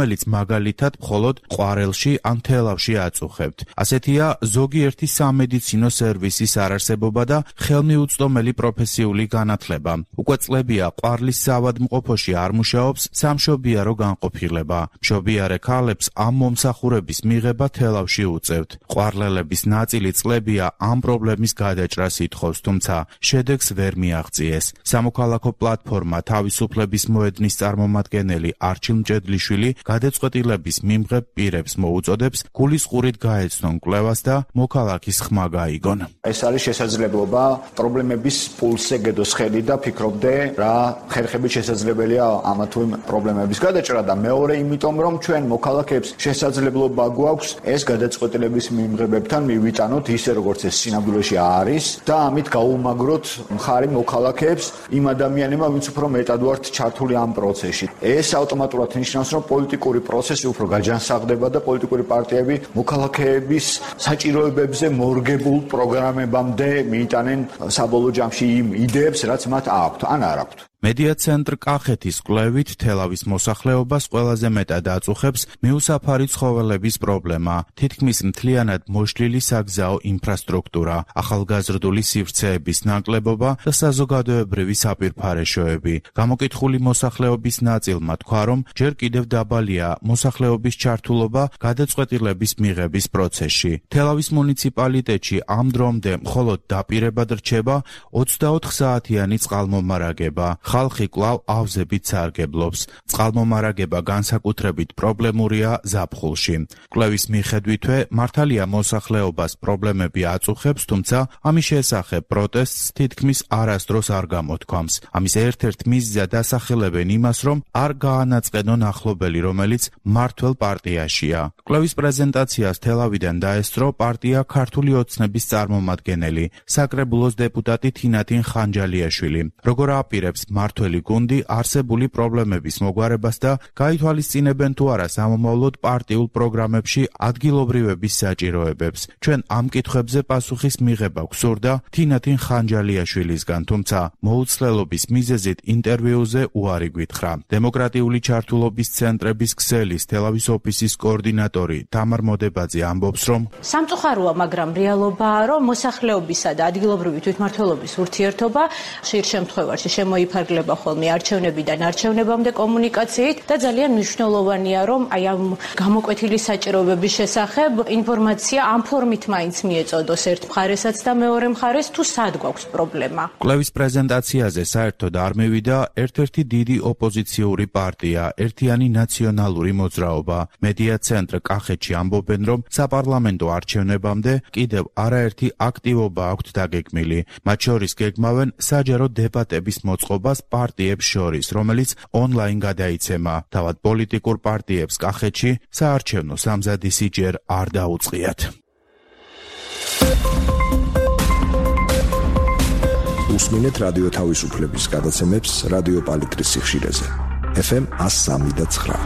მაგალითად მხოლოდ ყვარელში ან თელავში აწუხებთ. ასეთია ზოგიერთი სამედიცინო სერვისის არარსებობა და ხელმიუწვდომელი პროფესიული განათლება. უკვე წლებია ყვარლის საავადმყოფოში არ მუშაობს სამშობიარო განყოფილება. მშობიარე ქალებს ამ მომსახურების მიღება თელავში უწევთ. ყვარლელების ნაწილი წლებია ამ პრობლემის გადაჭრას ითხოვს, თუმცა შედეგს ვერ მიაღწიეს. სამოქალაქო პლატფორმა თავისუფლების მოედნის წარმომადგენელი არჩილ მჭედლიშვილი გადაწყვეტილების მიმღებ პირებს მოუწოდებს გულისყურით გაეცნონ კვლევას და მოქალაქის ხმა გაიგონ. ეს არის შესაძლებლობა პრობლემების პულსზე გედოს ხელი და ფიქრობდე რა ხერხებით შესაძლებელია ამა თუ იმ პრობლემების გადაჭრა და მეორე იმიტომ რომ ჩვენ მოქალაქეებს შესაძლებლობა გვაქვს ეს გადაწყვეტილების მიმღებებთან მივიტანოთ ისე როგორც ეს სინამდვილეში არის და ამით გაუმაგროთ მხარი მოქალაქეებს იმ ადამიანებმა ვინც უფრო მეტად ვართ ჩართული ამ პროცესში. ეს ავტომატურად ნიშნავს რომ პოლიტიკური პროცესი უფრო გაჯანსაღდება და პოლიტიკური პარტიები მოქალაქეების საჭიროებებზე მორგებულ პროგრამებამდე მიიტანენ საბოლოო ჯამში იმ იდეებს რაც მათ აქვთ ან არ აქვთ. მედია ცენტრ კახეთის კვლევით თელავის მოსახლეობას ყველაზე მეტად აწუხებს მიუსაფარი ცხოველების პრობლემა, თითქმის მთლიანად მოშლილი საგზაო ინფრასტრუქტურა, ახალგაზრდული სივრცეების ნაკლებობა და საზოგადოებრივი საპირფარეშოები. გამოკითხული მოსახლეობის ნაწილმა თქვა, რომ ჯერ კიდევ დაბალია მოსახლეობის ჩართულობა გადაწყვეტილების მიღების პროცესში. თელავის მუნიციპალიტეტში ამ დრომდე მხოლოდ დაპირებად რჩება 24 საათიანი წყალმომარაგება. ხალხი კვლავ ავზებით სარგებლობს. წყალმომარაგება განსაკუთრებით პრობლემურია ზაფხულში. კვლევის მიხედვითვე მართალია მოსახლეობას პრობლემები აწუხებს, თუმცა ამის შესახებ პროტესტს თითქმის არასდროს არ გამოთქვამს. ამის ერთ-ერთ მიზეზად ასახელებენ იმას, რომ არ გაანაწყენონ ახლობელი, რომელიც მმართველ პარტიაშია. კვლევის პრეზენტაციას თელავიდან დაესწრო პარტია ქართული ოცნების წარმომადგენელი, საკრებულოს დეპუტატი თინათინ ხანჯალიაშვილი. როგორ აპირებს მართველი გუნდი არსებული პრობლემების მოგვარებას და გაითვალისწინებენ თუ არა სამომავლოდ პარტიულ პროგრამებში ადგილობრივების საჭიროებებს. ჩვენ ამ კითხვებზე პასუხის მიღება გვსურდა თინათინ ხანჯალიაშვილისგან, თუმცა მოუცლელობის მიზეზით ინტერვიუზე უარი გვითხრა. დემოკრატიული ჩართულობის ცენტრების ქსელის თელავის ოფისის კოორდინატორი თამარ მოდებაძე ამბობს, რომ სამწუხაროა, მაგრამ რეალობაა, რომ მოსახლეობისა და ადგილობრივი თვითმმართველობის ურთიერთობა ხშირ შემთხვევაში შემოიფარგლება ხოლმე არჩევნებიდან არჩევნებამდე კომუნიკაციით და ძალიან მნიშვნელოვანია, რომ აი ამ გამოკვეთილი საჭიროებების შესახებ ინფორმაცია ამ ფორმით მაინც მიეწოდოს ერთ მხარესაც და მეორე მხარეს თუ სად გვაქვს პრობლემა. კვლევის პრეზენტაციაზე საერთოდ არ მივიდა ერთ-ერთი დიდი ოპოზიციური პარტია, ერთიანი ნაციონალური მოძრაობა. მედია ცენტრ კახეთში ამბობენ, რომ საპარლამენტო არჩევნებამდე კიდევ არაერთი აქტივობა აქვთ დაგეგმილი. მათ შორის გეგმავენ საჯარო დებატების მოწყობას პარტიებს შორის, რომელიც ონლაინ გადაიცემა. თავად პოლიტიკურ პარტიებს კახეთში საარჩევნო სამზადისი ჯერ არ დაუწყიათ. უსმინეთ რადიო თავისუფლების გადაცემებს რადიო პალიტრის სიხშირეზე. FM 103.9.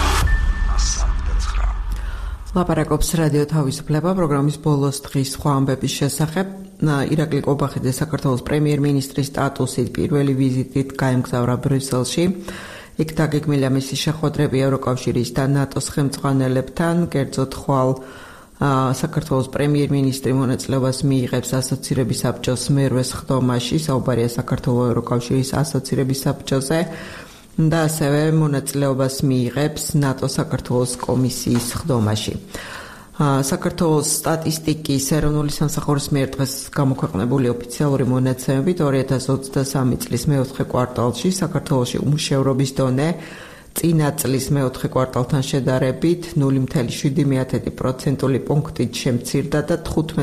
ლაპარაკობს რადიო თავისუფლება პროგრამის ბოლოს დღის სხვა ამბების შესახებ. ირაკლი ყობახიძე საქართველოს პრემიერ-მინისტრის სტატუსით პირველი ვიზიტით გაემგზავრა ბრიუსელში. იქ დაგეგმილია მისი შეხვედრები ევროკავშირის და ნატოს ხელმძღვანელებთან, კერძოდ ხვალ საქართველოს პრემიერ-მინისტრი მონაწილეობას მიიღებს ასოცირების საბჭოს მერვეს ხდომაში, საუბარია საქართველოს ევროკავშირის ასოცირების საბჭოზე და ასევე მონაწილეობას მიიღებს ნატოს საქართველოს კომისიის ხდომაში. საქართველოს სტატისტიკის ეროვნული სამსახურის მიერ დღეს გამოქვეყნებული ოფიციალური მონაცემებით 2023 წლის მეოთხე კვარტალში საქართველოში უმუშევრობის დონე წინა წლის მეოთხე კვარტალთან შედარებით 0.7% პუნქტით შემცირდა და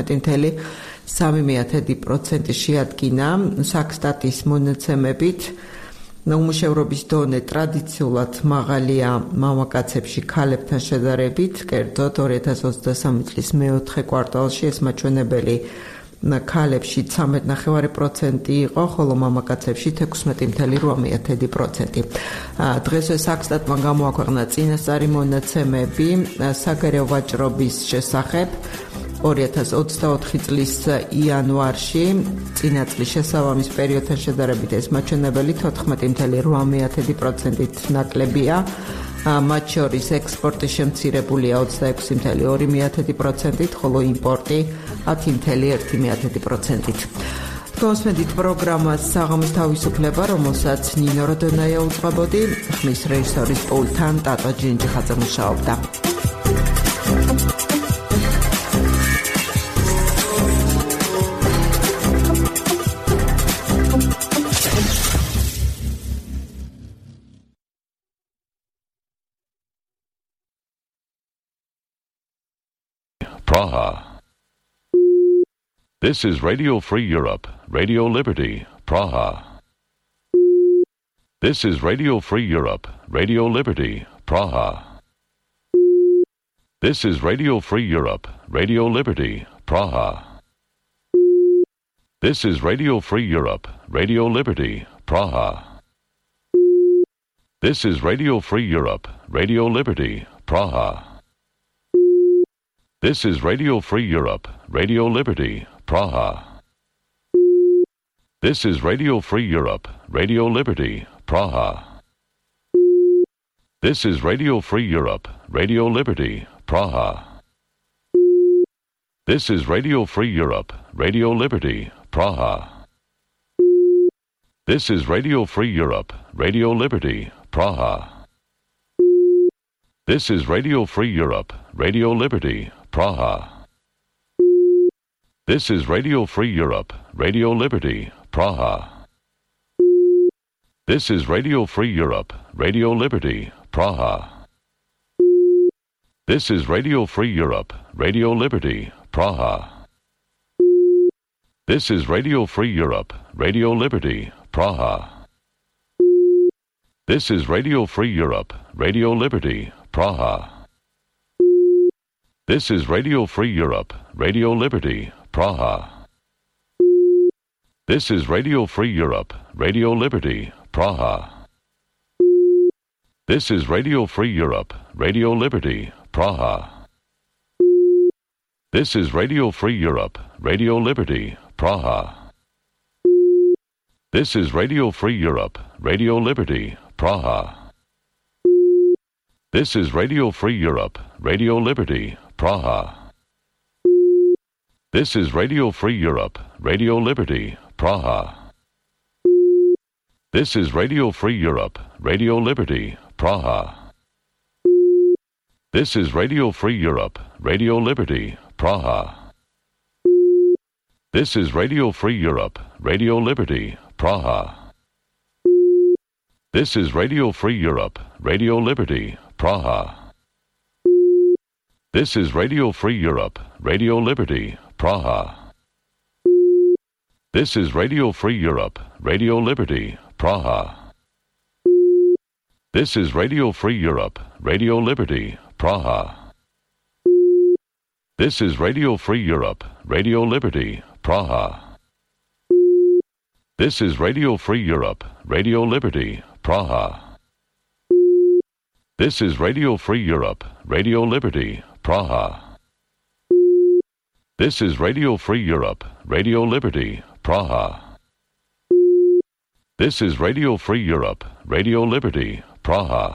15.3% შეადგინა. საქსტატის მონაცემებით უმუშევრობის დონე ტრადიციულად მაღალია მამაკაცებში ქალებთან შედარებით, კერძოდ 2023 წლის მეოთხე კვარტალში ეს მაჩვენებელი ქალებში 13.9% იყო, ხოლო მამაკაცებში 16.8%. დღესვე საქსტატმა გამოაქვეყნა წინასწარი მონაცემები საგარეო ვაჭრობის შესახებ. 2024 წლის იანვარში წინა წლის შესაბამის პერიოდთან შედარებით ეს მაჩვენებელი 14.8%-ით ნაკლებია. მათ შორის ექსპორტი შემცირებულია 26.2%-ით, ხოლო იმპორტი 10.1%-ით. Twosmedit პროგრამას საღამოს თავისუფლება, რომელსაც ნინო როდონაია უძღვებოდი, ხმის რეჟისორის პულტთან ტატო ჯინჯიხაძე მუშაობდა. Praha. This is Radio Free Europe, Radio Liberty, Praha. This is Radio Free Europe, Radio Liberty, Praha. This is Radio Free Europe, Radio Liberty, Praha. This is Radio Free Europe, Radio Liberty, Praha. This is Radio Free Europe, Radio Liberty, Praha. This is Radio Free Europe, Radio Liberty, Praha. This is Radio Free Europe, Radio Liberty, Praha. This is Radio Free Europe, Radio Liberty, Praha. This is Radio Free Europe, Radio Liberty, Praha. This is Radio Free Europe, Radio Liberty, Praha. This is Radio Free Europe, Radio Liberty, Praha. This is Radio Free Europe, Radio Liberty, Praha. This is Radio Free Europe, Radio Liberty, Praha. This is Radio Free Europe, Radio Liberty, Praha. This is Radio Free Europe, Radio Liberty, Praha. This is Radio Free Europe, Radio Liberty, Praha. This is Radio Free Europe, Radio Liberty, Praha. This is Radio Free Europe, Radio Liberty, Praha. This is Radio Free Europe, Radio Liberty, Praha. This is Radio Free Europe, Radio Liberty, Praha. This is Radio Free Europe, Radio Liberty, Praha. This is Radio Free Europe, Radio Liberty, Praha. This is Radio Free Europe, Radio Liberty, Praha. This is Radio Free Europe, Radio Liberty, Praha. This is Radio Free Europe, Radio Liberty, Praha. This is Radio Free Europe, Radio Liberty, Praha. This is Radio Free Europe, Radio Liberty, Praha. This is Radio Free Europe, Radio Liberty, Praha. This is Radio Free Europe, Radio Liberty, Praha. This is Radio Free Europe, Radio Liberty, Praha. This is Radio Free Europe, Radio Liberty, Praha. This is Radio Free Europe, Radio Liberty, Praha. This is Radio Free Europe, Radio Liberty, Praha. This is Radio Free Europe, Radio Liberty, Praha. This is Radio Free Europe, Radio Liberty, Praha.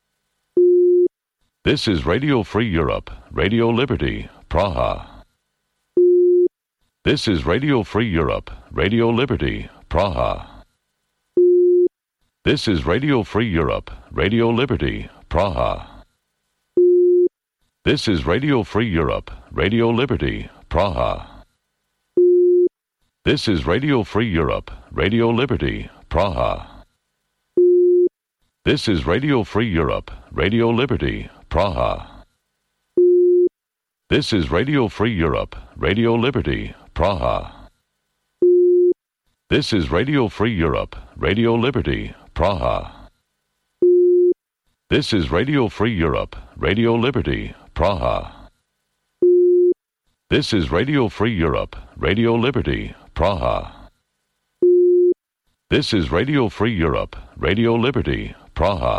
This is Radio Free Europe, Radio Liberty, Praha. This is Radio Free Europe, Radio Liberty, Praha. This is Radio Free Europe, Radio Liberty, Praha. This is Radio Free Europe, Radio Liberty, Praha. This is Radio Free Europe, Radio Liberty, Praha. This is Radio Free Europe, Radio Liberty, Praha. This is Radio Free Europe, Radio Liberty, Praha. This is Radio Free Europe, Radio Liberty, Praha. This is Radio Free Europe, Radio Liberty, Praha. This is Radio Free Europe, Radio Liberty, Praha. This is Radio Free Europe, Radio Liberty, Praha.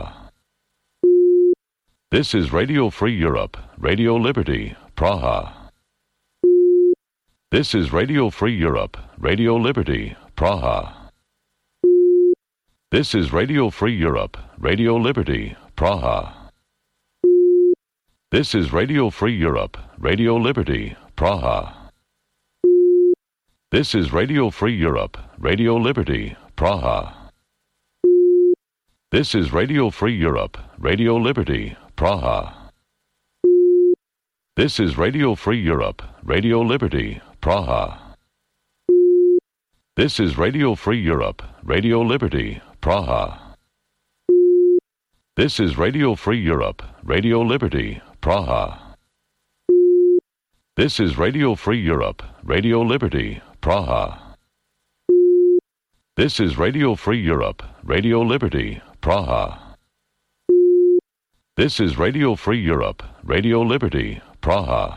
This is Radio Free Europe, Radio Liberty, Praha. This is Radio Free Europe, Radio Liberty, Praha. This is Radio Free Europe, Radio Liberty, Praha. This is Radio Free Europe, Radio Liberty, Praha. This is Radio Free Europe, Radio Liberty, Praha. This is Radio Free Europe, Radio Liberty, Praha. This is Radio Free Europe, Radio Liberty, Praha. This is Radio Free Europe, Radio Liberty, Praha. This is Radio Free Europe, Radio Liberty, Praha. This is Radio Free Europe, Radio Liberty, Praha. This is Radio Free Europe, Radio Liberty, Praha. This is Radio Free Europe, Radio Liberty, Praha.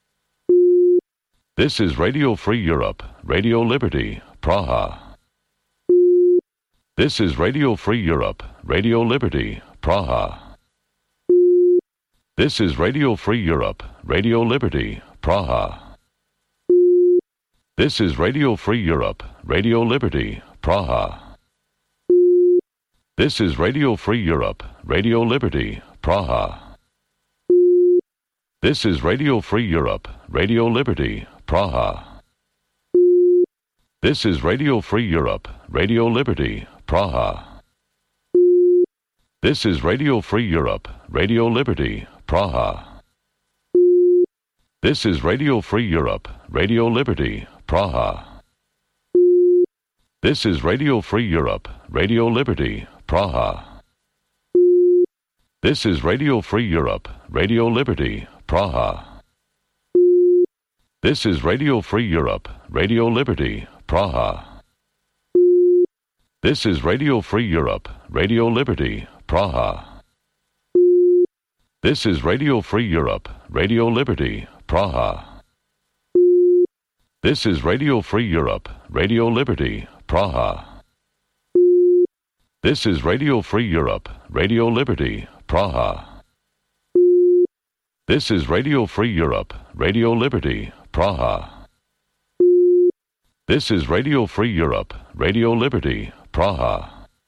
This is Radio Free Europe, Radio Liberty, Praha. This is Radio Free Europe, Radio Liberty, Praha. This is Radio Free Europe, Radio Liberty, Praha. This is Radio Free Europe, Radio Liberty, Praha. This is Radio Free Europe, Radio Liberty, Praha. This is Radio Free Europe, Radio Liberty, Praha. This is Radio Free Europe, Radio Liberty, Praha. This is Radio Free Europe, Radio Liberty, Praha. This is Radio Free Europe, Radio Liberty, Praha. This is Radio Free Europe, Radio Liberty, Praha. This is Radio Free Europe, Radio Liberty, Praha. This is Radio Free Europe, Radio Liberty, Praha. This is Radio Free Europe, Radio Liberty, Praha. This is Radio Free Europe, Radio Liberty, Praha. This is Radio Free Europe, Radio Liberty, Praha. This is Radio Free Europe, Radio Liberty, Praha. This is Radio Free Europe, Radio Liberty, Praha. This is Radio Free Europe, Radio Liberty, Praha.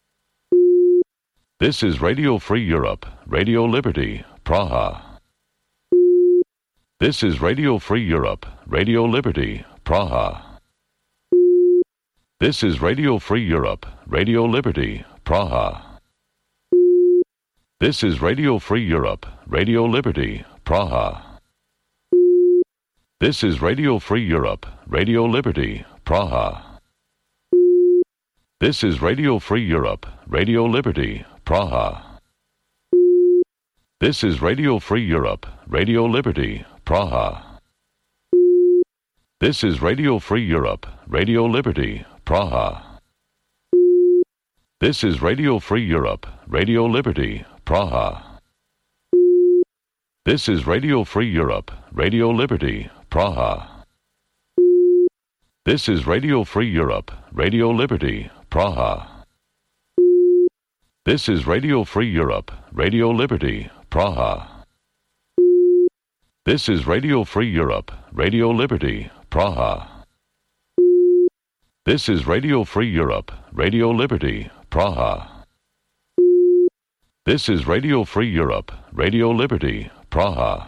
This is Radio Free Europe, Radio Liberty, Praha. This is Radio Free Europe, Radio Liberty, Praha. This is Radio Free Europe, Radio Liberty, Praha. This is Radio Free Europe, Radio Liberty, Praha. This is Radio Free Europe, Radio Liberty, Praha. This is Radio Free Europe, Radio Liberty, Praha. This is Radio Free Europe, Radio Liberty, Praha. This is Radio Free Europe, Radio Liberty, Praha. This is Radio Free Europe, Radio Liberty, Praha. This is Radio Free Europe, Radio Liberty, Praha. This is Radio Free Europe, Radio Liberty, Praha. This is Radio Free Europe, Radio Liberty, Praha. This is Radio Free Europe, Radio Liberty, Praha. This is Radio Free Europe, Radio Liberty, Praha. This is Radio Free Europe, Radio Liberty, Praha.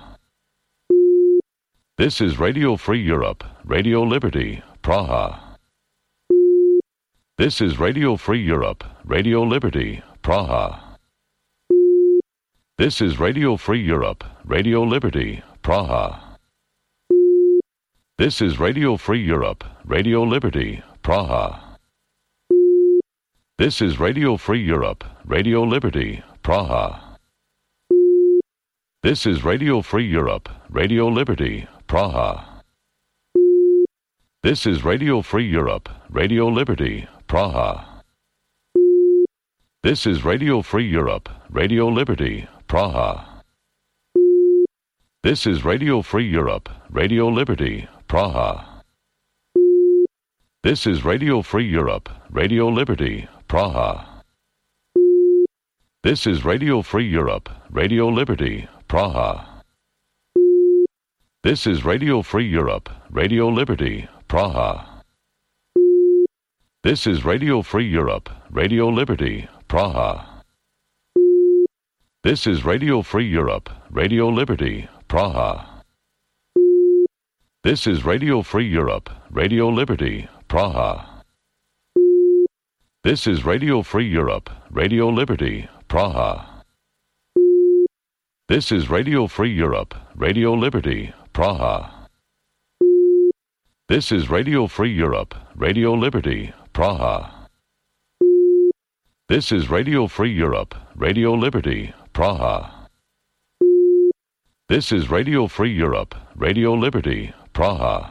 This is Radio Free Europe, Radio Liberty, Praha. This is Radio Free Europe, Radio Liberty, Praha. This is Radio Free Europe, Radio Liberty, Praha. This is Radio Free Europe, Radio Liberty, Praha. This is Radio Free Europe, Radio Liberty, Praha. This is Radio Free Europe, Radio Liberty, Praha. This is Radio Free Europe, Radio Liberty, Praha. This is Radio Free Europe, Radio Liberty, Praha. This is Radio Free Europe, Radio Liberty, Praha. This is Radio Free Europe, Radio Liberty, Praha. This is Radio Free Europe, Radio Liberty, Praha. This is Radio Free Europe, Radio Liberty, Praha. This is Radio Free Europe, Radio Liberty, Praha. This is Radio Free Europe, Radio Liberty, Praha. This is Radio Free Europe, Radio Liberty, Praha. This is Radio Free Europe, Radio Liberty, Praha. This is Radio Free Europe, Radio Liberty, Praha. This is Radio Free Europe, Radio Liberty, Praha. This is Radio Free Europe, Radio Liberty, Praha. This is Radio Free Europe, Radio Liberty, Praha.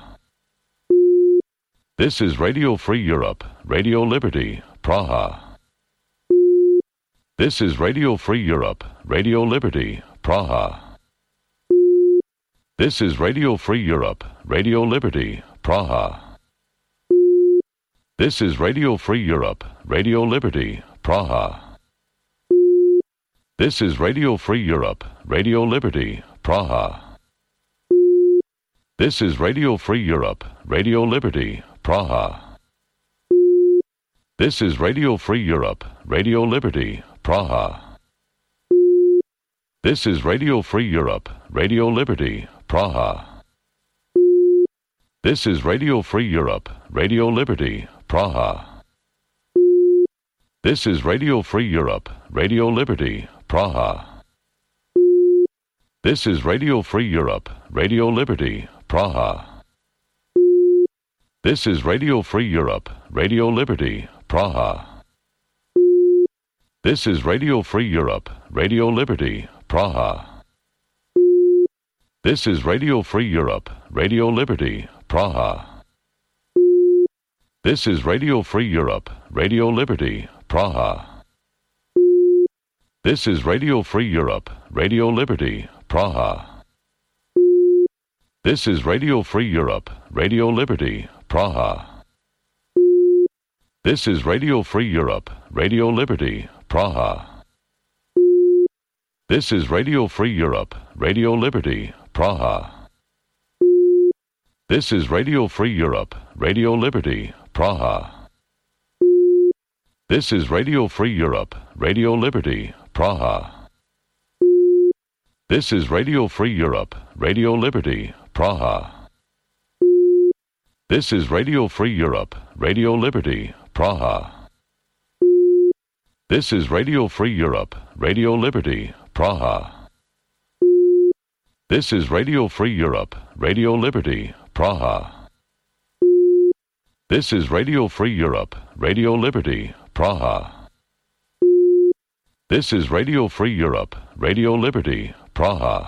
This is Radio Free Europe, Radio Liberty, Praha. This is Radio Free Europe, Radio Liberty, Praha. This is Radio Free Europe, Radio Liberty, Praha. This is Radio Free Europe, Radio Liberty, Praha. This is Radio Free Europe, Radio Liberty, Praha. This is Radio Free Europe, Radio Liberty, Praha. This is Radio Free Europe, Radio Liberty, Praha. This is Radio Free Europe, Radio Liberty, Praha. This is Radio Free Europe, Radio Liberty, Praha. This is Radio Free Europe, Radio Liberty, Praha. This is Radio Free Europe, Radio Liberty, Praha. This is Radio Free Europe, Radio Liberty, Praha. This is Radio Free Europe, Radio Liberty, Praha. This is Radio Free Europe, Radio Liberty, Praha. This is Radio Free Europe, Radio Liberty, Praha. This is Radio Free Europe, Radio Liberty, Praha. This is Radio Free Europe, Radio Liberty, Praha. This is Radio Free Europe, Radio Liberty, Praha. This is Radio Free Europe, Radio Liberty, Praha. This is Radio Free Europe, Radio Liberty, Praha. This is Radio Free Europe, Radio Liberty, Praha. This is Radio Free Europe, Radio Liberty, Praha. This is Radio Free Europe, Radio Liberty, Praha. This is Radio Free Europe, Radio Liberty, Praha. This is Radio Free Europe, Radio Liberty, Praha. This is Radio Free Europe, Radio Liberty, Praha. This is Radio Free Europe, Radio Liberty, Praha.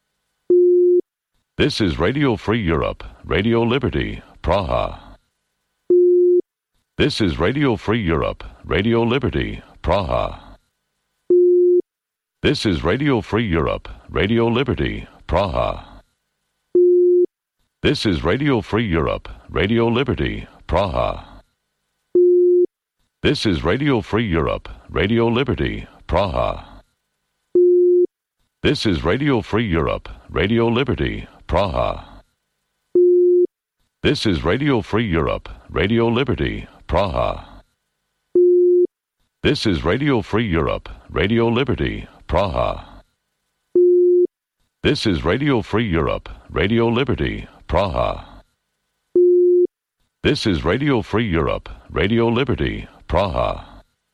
This is Radio Free Europe, Radio Liberty, Praha. This is Radio Free Europe, Radio Liberty, Praha. This is Radio Free Europe, Radio Liberty, Praha. This is Radio Free Europe, Radio Liberty, Praha. This is Radio Free Europe, Radio Liberty, Praha. This is Radio Free Europe, Radio Liberty, Praha. This is Radio Free Europe, Radio Liberty, Praha. This is Radio Free Europe, Radio Liberty, Praha. This is Radio Free Europe, Radio Liberty, Praha. This is Radio Free Europe, Radio Liberty, Praha.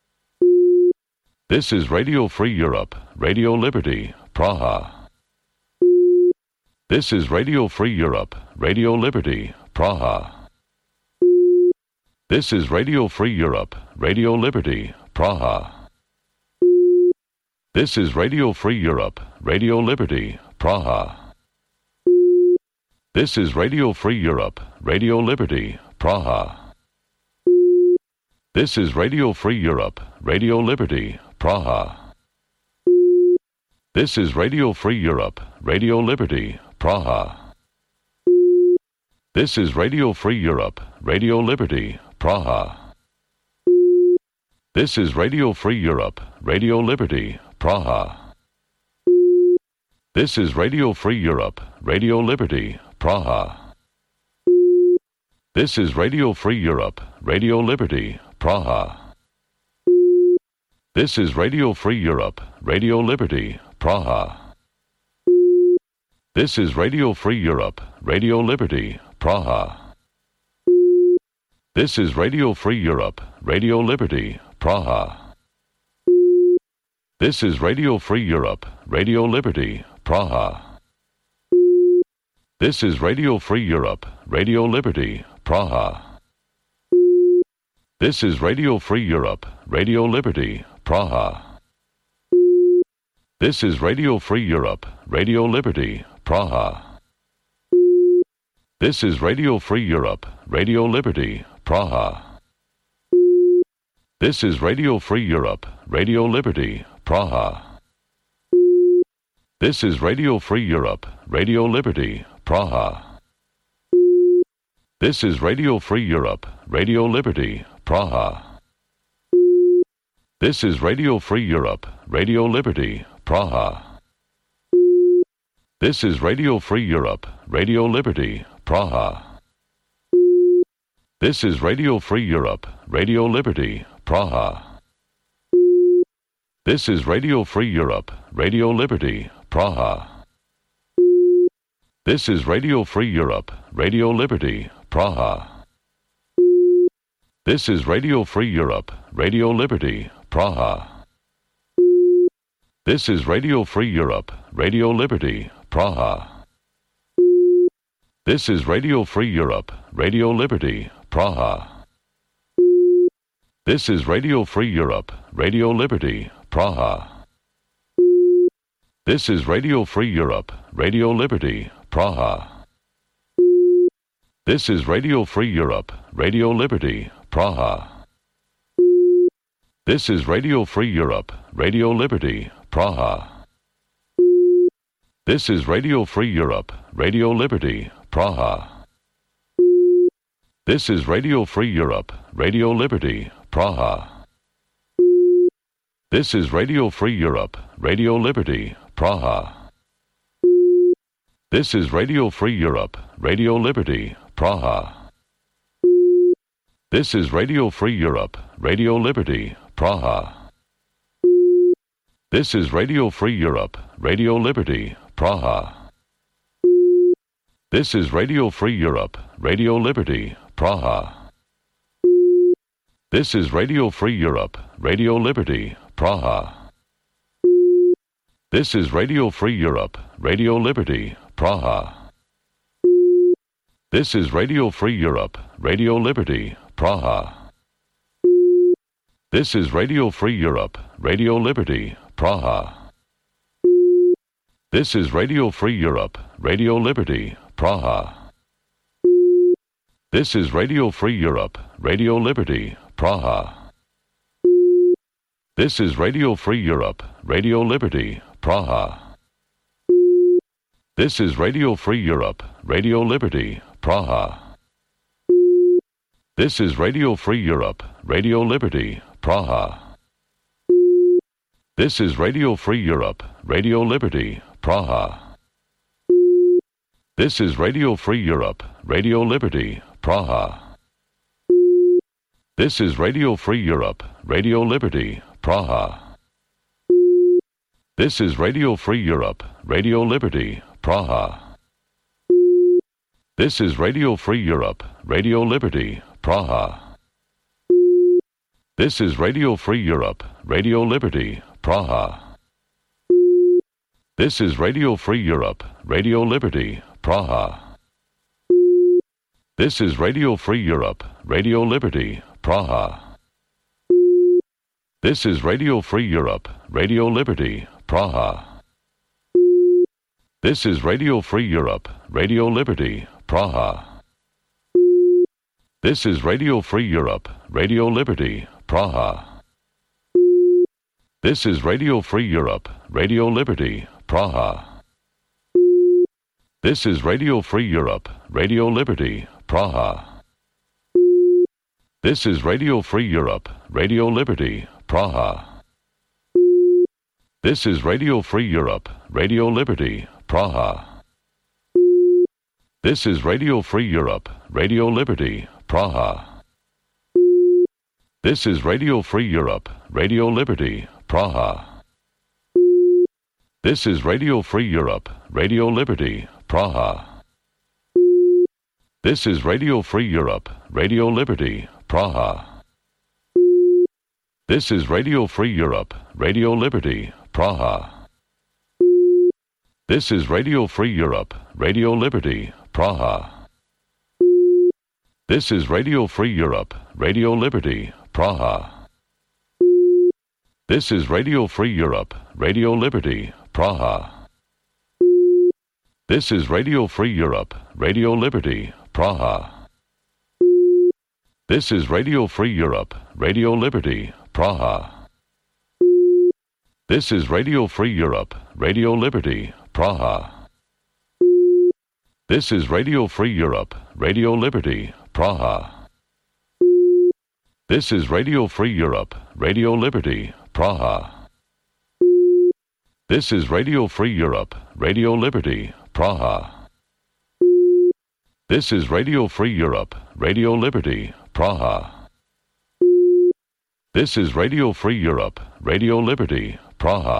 This is Radio Free Europe, Radio Liberty, Praha. This is Radio Free Europe, Radio Liberty, Praha. This is Radio Free Europe, Radio Liberty, Praha. This is Radio Free Europe, Radio Liberty, Praha. This is Radio Free Europe, Radio Liberty, Praha. This is Radio Free Europe, Radio Liberty, Praha. This is Radio Free Europe, Radio Liberty, Praha. This is Radio Free Europe, Radio Liberty, Praha. This is Radio Free Europe, Radio Liberty, Praha. This is Radio Free Europe, Radio Liberty, Praha. This is Radio Free Europe, Radio Liberty, Praha. This is Radio Free Europe, Radio Liberty, Praha. This is Radio Free Europe, Radio Liberty, Praha. This is Radio Free Europe, Radio Liberty, Praha. This is Radio Free Europe, Radio Liberty, Praha. This is Radio Free Europe, Radio Liberty, Praha. This is Radio Free Europe, Radio Liberty, Praha. This is Radio Free Europe, Radio Liberty, Praha. This is Radio Free Europe, Radio Liberty, Praha. This is Radio Free Europe, Radio Liberty, Praha. This is Radio Free Europe, Radio Liberty, Praha. This is Radio Free Europe, Radio Liberty, Praha. This is Radio Free Europe, Radio Liberty, Praha. This is Radio Free Europe, Radio Liberty, Praha. This is Radio Free Europe, Radio Liberty, Praha. This is Radio Free Europe, Radio Liberty, Praha. This is Radio Free Europe, Radio Liberty, Praha. This is Radio Free Europe, Radio Liberty, Praha. This is Radio Free Europe, Radio Liberty, Praha. This is Radio Free Europe, Radio Liberty, Praha. This is Radio Free Europe, Radio Liberty, Praha. This is Radio Free Europe, Radio Liberty, Praha. This is Radio Free Europe, Radio Liberty, Praha. This is Radio Free Europe, Radio Liberty, Praha. This is Radio Free Europe, Radio Liberty, Praha. This is Radio Free Europe, Radio Liberty, Praha. This is Radio Free Europe, Radio Liberty, Praha. This is Radio Free Europe, Radio Liberty, Praha. This is Radio Free Europe, Radio Liberty, Praha. This is Radio Free Europe, Radio Liberty, Praha. This is Radio Free Europe, Radio Liberty, Praha. This is Radio Free Europe, Radio Liberty, Praha. This is Radio Free Europe, Radio Liberty, Praha. This is Radio Free Europe, Radio Liberty, Praha. This is Radio Free Europe, Radio Liberty, Praha. This is Radio Free Europe, Radio Liberty, Praha. This is Radio Free Europe, Radio Liberty, Praha. This is Radio Free Europe, Radio Liberty, Praha. This is Radio Free Europe, Radio Liberty, Praha. This is Radio Free Europe, Radio Liberty, Praha. This is Radio Free Europe, Radio Liberty, Praha. This is Radio Free Europe, Radio Liberty, Praha. This is Radio Free Europe, Radio Liberty, Praha. This is Radio Free Europe, Radio Liberty, Praha. This is Radio Free Europe, Radio Liberty, Praha. This is Radio Free Europe, Radio Liberty, Praha. This is Radio Free Europe, Radio Liberty, Praha. This is Radio Free Europe, Radio Liberty, Praha. This is Radio Free Europe, Radio Liberty, Praha. This is Radio Free Europe, Radio Liberty, Praha. This is Radio Free Europe, Radio Liberty, Praha. This is Radio Free Europe, Radio Liberty, Praha. This is Radio Free Europe, Radio Liberty, Praha. This is Radio Free Europe, Radio Liberty, Praha. This is Radio Free Europe, Radio Liberty, Praha. This is Radio Free Europe, Radio Liberty, Praha. This is Radio Free Europe, Radio Liberty, Praha. This is Radio Free Europe, Radio Liberty, Praha. This is Radio Free Europe, Radio Liberty, Praha. This is Radio Free Europe, Radio Liberty, Praha. This is Radio Free Europe, Radio Liberty, Praha. This is Radio Free Europe, Radio Liberty, Praha. This is Radio Free Europe, Radio Liberty, Praha. This is Radio Free Europe, Radio Liberty, Praha. This is Radio Free Europe, Radio Liberty, Praha. This is Radio Free Europe, Radio Liberty, Praha. This is Radio Free Europe, Radio Liberty, Praha. This is Radio Free Europe, Radio Liberty, Praha. This is Radio Free Europe, Radio Liberty, Praha. This is Radio Free Europe, Radio Liberty, Praha. This is Radio Free Europe, Radio Liberty, Praha.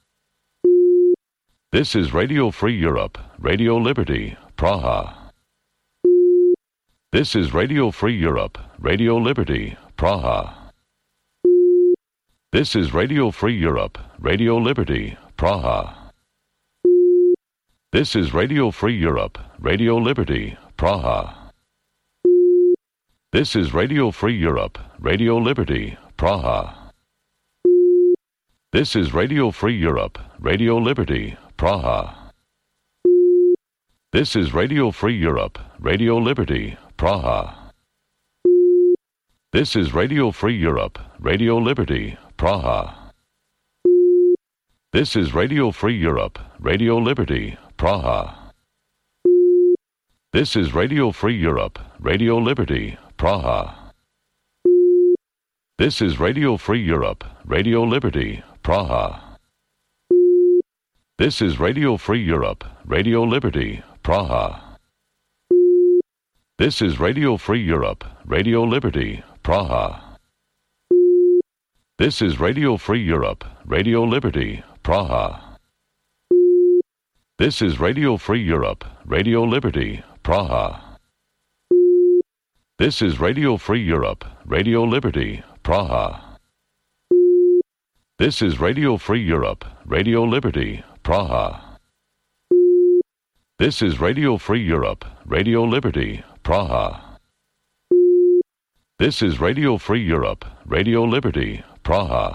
This is Radio Free Europe, Radio Liberty, Praha. This is Radio Free Europe, Radio Liberty, Praha. This is Radio Free Europe, Radio Liberty, Praha. This is Radio Free Europe, Radio Liberty, Praha. This is Radio Free Europe, Radio Liberty, Praha. This is Radio Free Europe, Radio Liberty, Praha. This is Radio Free Europe, Radio Liberty, Praha. This is Radio Free Europe, Radio Liberty, Praha. This is Radio Free Europe, Radio Liberty, Praha. This is Radio Free Europe, Radio Liberty, Praha. This is Radio Free Europe, Radio Liberty, Praha. This is Radio Free Europe, Radio Liberty, Praha. This is Radio Free Europe, Radio Liberty, Praha. This is Radio Free Europe, Radio Liberty, Praha. This is Radio Free Europe, Radio Liberty, Praha. This is Radio Free Europe, Radio Liberty, Praha. This is Radio Free Europe, Radio Liberty, Praha. This is Radio Free Europe, Radio Liberty, Praha. This is Radio Free Europe, Radio Liberty, Praha.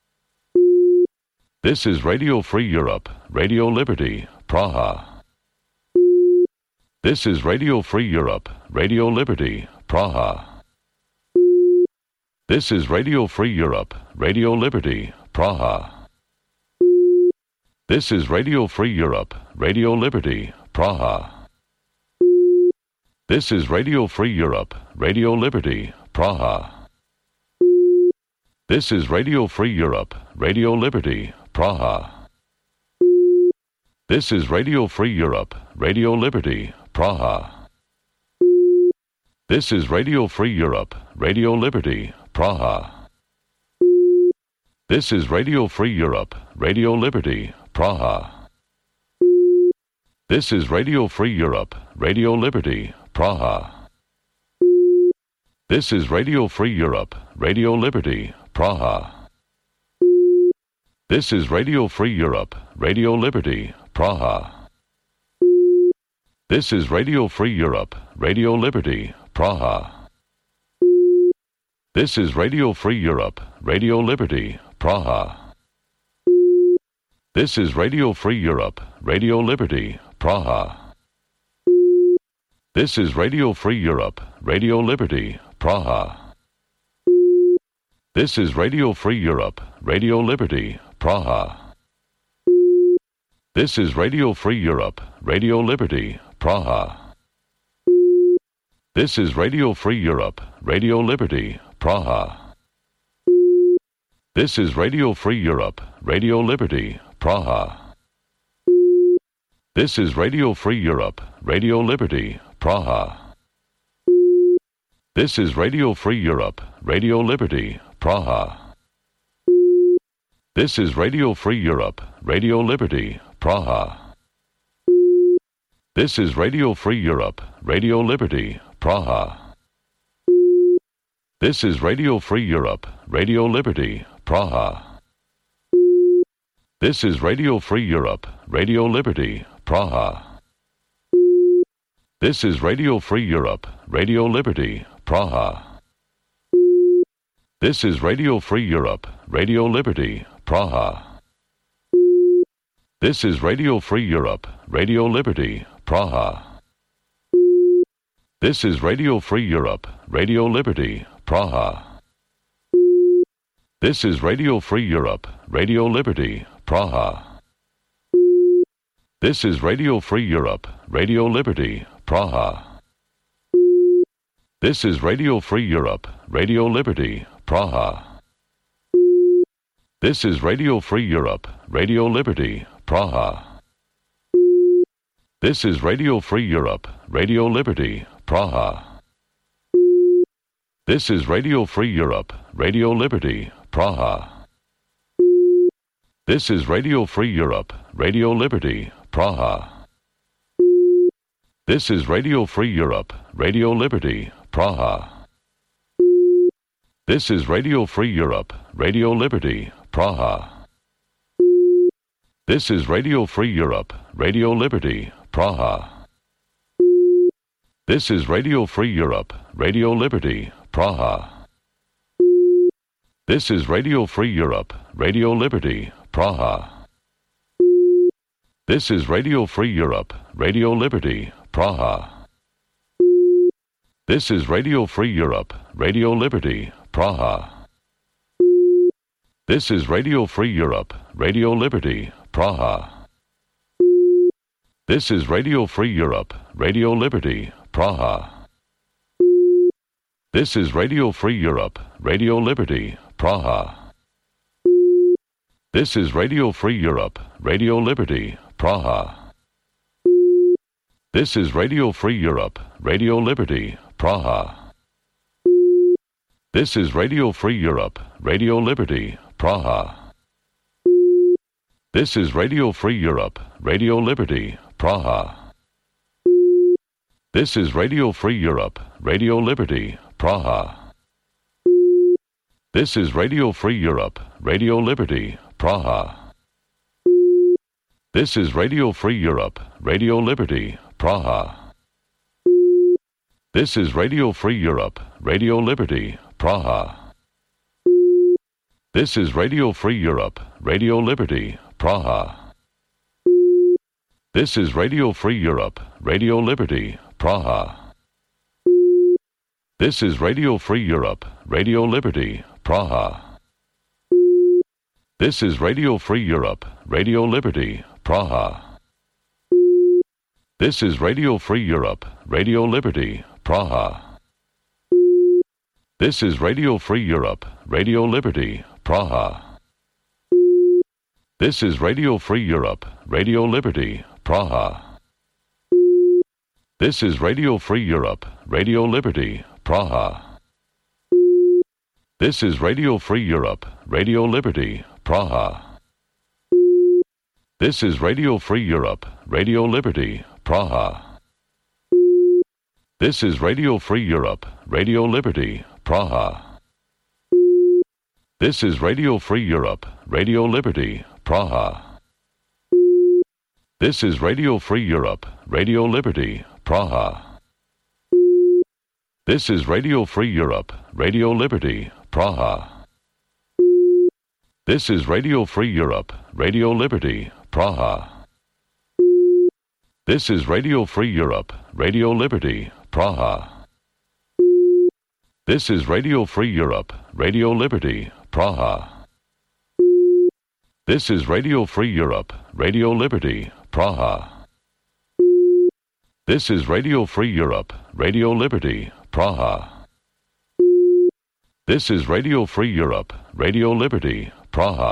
This is Radio Free Europe, Radio Liberty, Praha. This is Radio Free Europe, Radio Liberty, Praha. This is Radio Free Europe, Radio Liberty, Praha. This is Radio Free Europe, Radio Liberty, Praha. This is Radio Free Europe, Radio Liberty, Praha. This is Radio Free Europe, Radio Liberty, Praha. This is Radio Free Europe, Radio Liberty, Praha. This is Radio Free Europe, Radio Liberty, Praha. This is Radio Free Europe, Radio Liberty, Praha. This is Radio Free Europe, Radio Liberty, Praha. This is Radio Free Europe, Radio Liberty, Praha. This is Radio Free Europe, Radio Liberty, Praha. This is Radio Free Europe, Radio Liberty, Praha. This is Radio Free Europe, Radio Liberty, Praha. This is Radio Free Europe, Radio Liberty, Praha. This is Radio Free Europe, Radio Liberty, Praha. This is Radio Free Europe, Radio Liberty, Praha. This is Radio Free Europe, Radio Liberty, Praha. This is Radio Free Europe, Radio Liberty, Praha. This is Radio Free Europe, Radio Liberty, Praha. This is Radio Free Europe, Radio Liberty, Praha. This is Radio Free Europe, Radio Liberty, Praha. This is Radio Free Europe, Radio Liberty, Praha. This is Radio Free Europe, Radio Liberty, Praha. This is Radio Free Europe, Radio Liberty, Praha. This is Radio Free Europe, Radio Liberty, Praha. This is Radio Free Europe, Radio Liberty, Praha. This is Radio Free Europe, Radio Liberty, Praha. This is Radio Free Europe, Radio Liberty, Praha. This is Radio Free Europe, Radio Liberty, Praha. This is Radio Free Europe, Radio Liberty, Praha. This is Radio Free Europe, Radio Liberty, Praha. This is Radio Free Europe, Radio Liberty, Praha. This is Radio Free Europe, Radio Liberty, Praha. This is Radio Free Europe, Radio Liberty, Praha. This is Radio Free Europe, Radio Liberty, Praha. This is Radio Free Europe, Radio Liberty, Praha. This is Radio Free Europe, Radio Liberty, Praha. This is Radio Free Europe, Radio Liberty, Praha. This is Radio Free Europe, Radio Liberty, Praha. This is Radio Free Europe, Radio Liberty, Praha. This is Radio Free Europe, Radio Liberty, Praha. This is Radio Free Europe, Radio Liberty, Praha. This is Radio Free Europe, Radio Liberty, Praha. This is Radio Free Europe, Radio Liberty, Praha. This is Radio Free Europe, Radio Liberty, Praha. This is Radio Free Europe, Radio Liberty, Praha. This is Radio Free Europe, Radio Liberty, Praha. This is Radio Free Europe, Radio Liberty, Praha. This is Radio Free Europe, Radio Liberty, Praha. This is Radio Free Europe, Radio Liberty, Praha. This is Radio Free Europe, Radio Liberty, Praha. This is Radio Free Europe, Radio Liberty, Praha. This is Radio Free Europe, Radio Liberty, Praha. This is Radio Free Europe, Radio Liberty, Praha. This is Radio Free Europe, Radio Liberty, Praha. This is Radio Free Europe, Radio Liberty, Praha. This is Radio Free Europe, Radio Liberty, Praha. This is Radio Free Europe, Radio Liberty, Praha. This is Radio Free Europe, Radio Liberty, Praha. This is Radio Free Europe, Radio Liberty, Praha. This is Radio Free Europe, Radio Liberty, Praha. This is Radio Free Europe, Radio Liberty, Praha. This is Radio Free Europe, Radio Liberty, Praha. This is Radio Free Europe, Radio Liberty, Praha. This is Radio Free Europe, Radio Liberty, Praha. This is Radio Free Europe, Radio Liberty, Praha. This is Radio Free Europe, Radio Liberty, Praha. This is Radio Free Europe, Radio Liberty, Praha. This is Radio Free Europe, Radio Liberty, Praha. This is Radio Free Europe, Radio Liberty, Praha. This is Radio Free Europe, Radio Liberty, Praha. This is Radio Free Europe, Radio Liberty, Praha. This is Radio Free Europe, Radio Liberty, Praha. This is Radio Free Europe, Radio Liberty, Praha.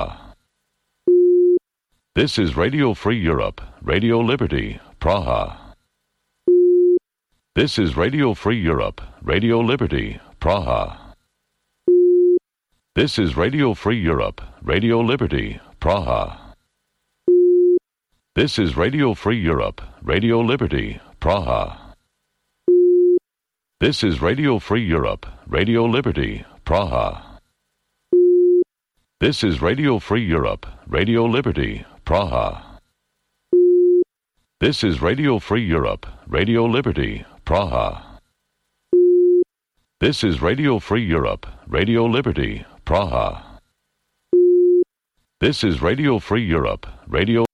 This is Radio Free Europe, Radio Liberty, Praha. This is Radio Free Europe, Radio Liberty, Praha. This is Radio Free Europe, Radio Liberty, Praha. This is Radio Free Europe, Radio Liberty, Praha. This is Radio Free Europe, Radio Liberty, Praha. This is Radio Free Europe, Radio Liberty, Praha. This is Radio Free Europe, Radio Liberty, Praha. This is Radio Free Europe, Radio Liberty, Praha. This is Radio Free Europe, Radio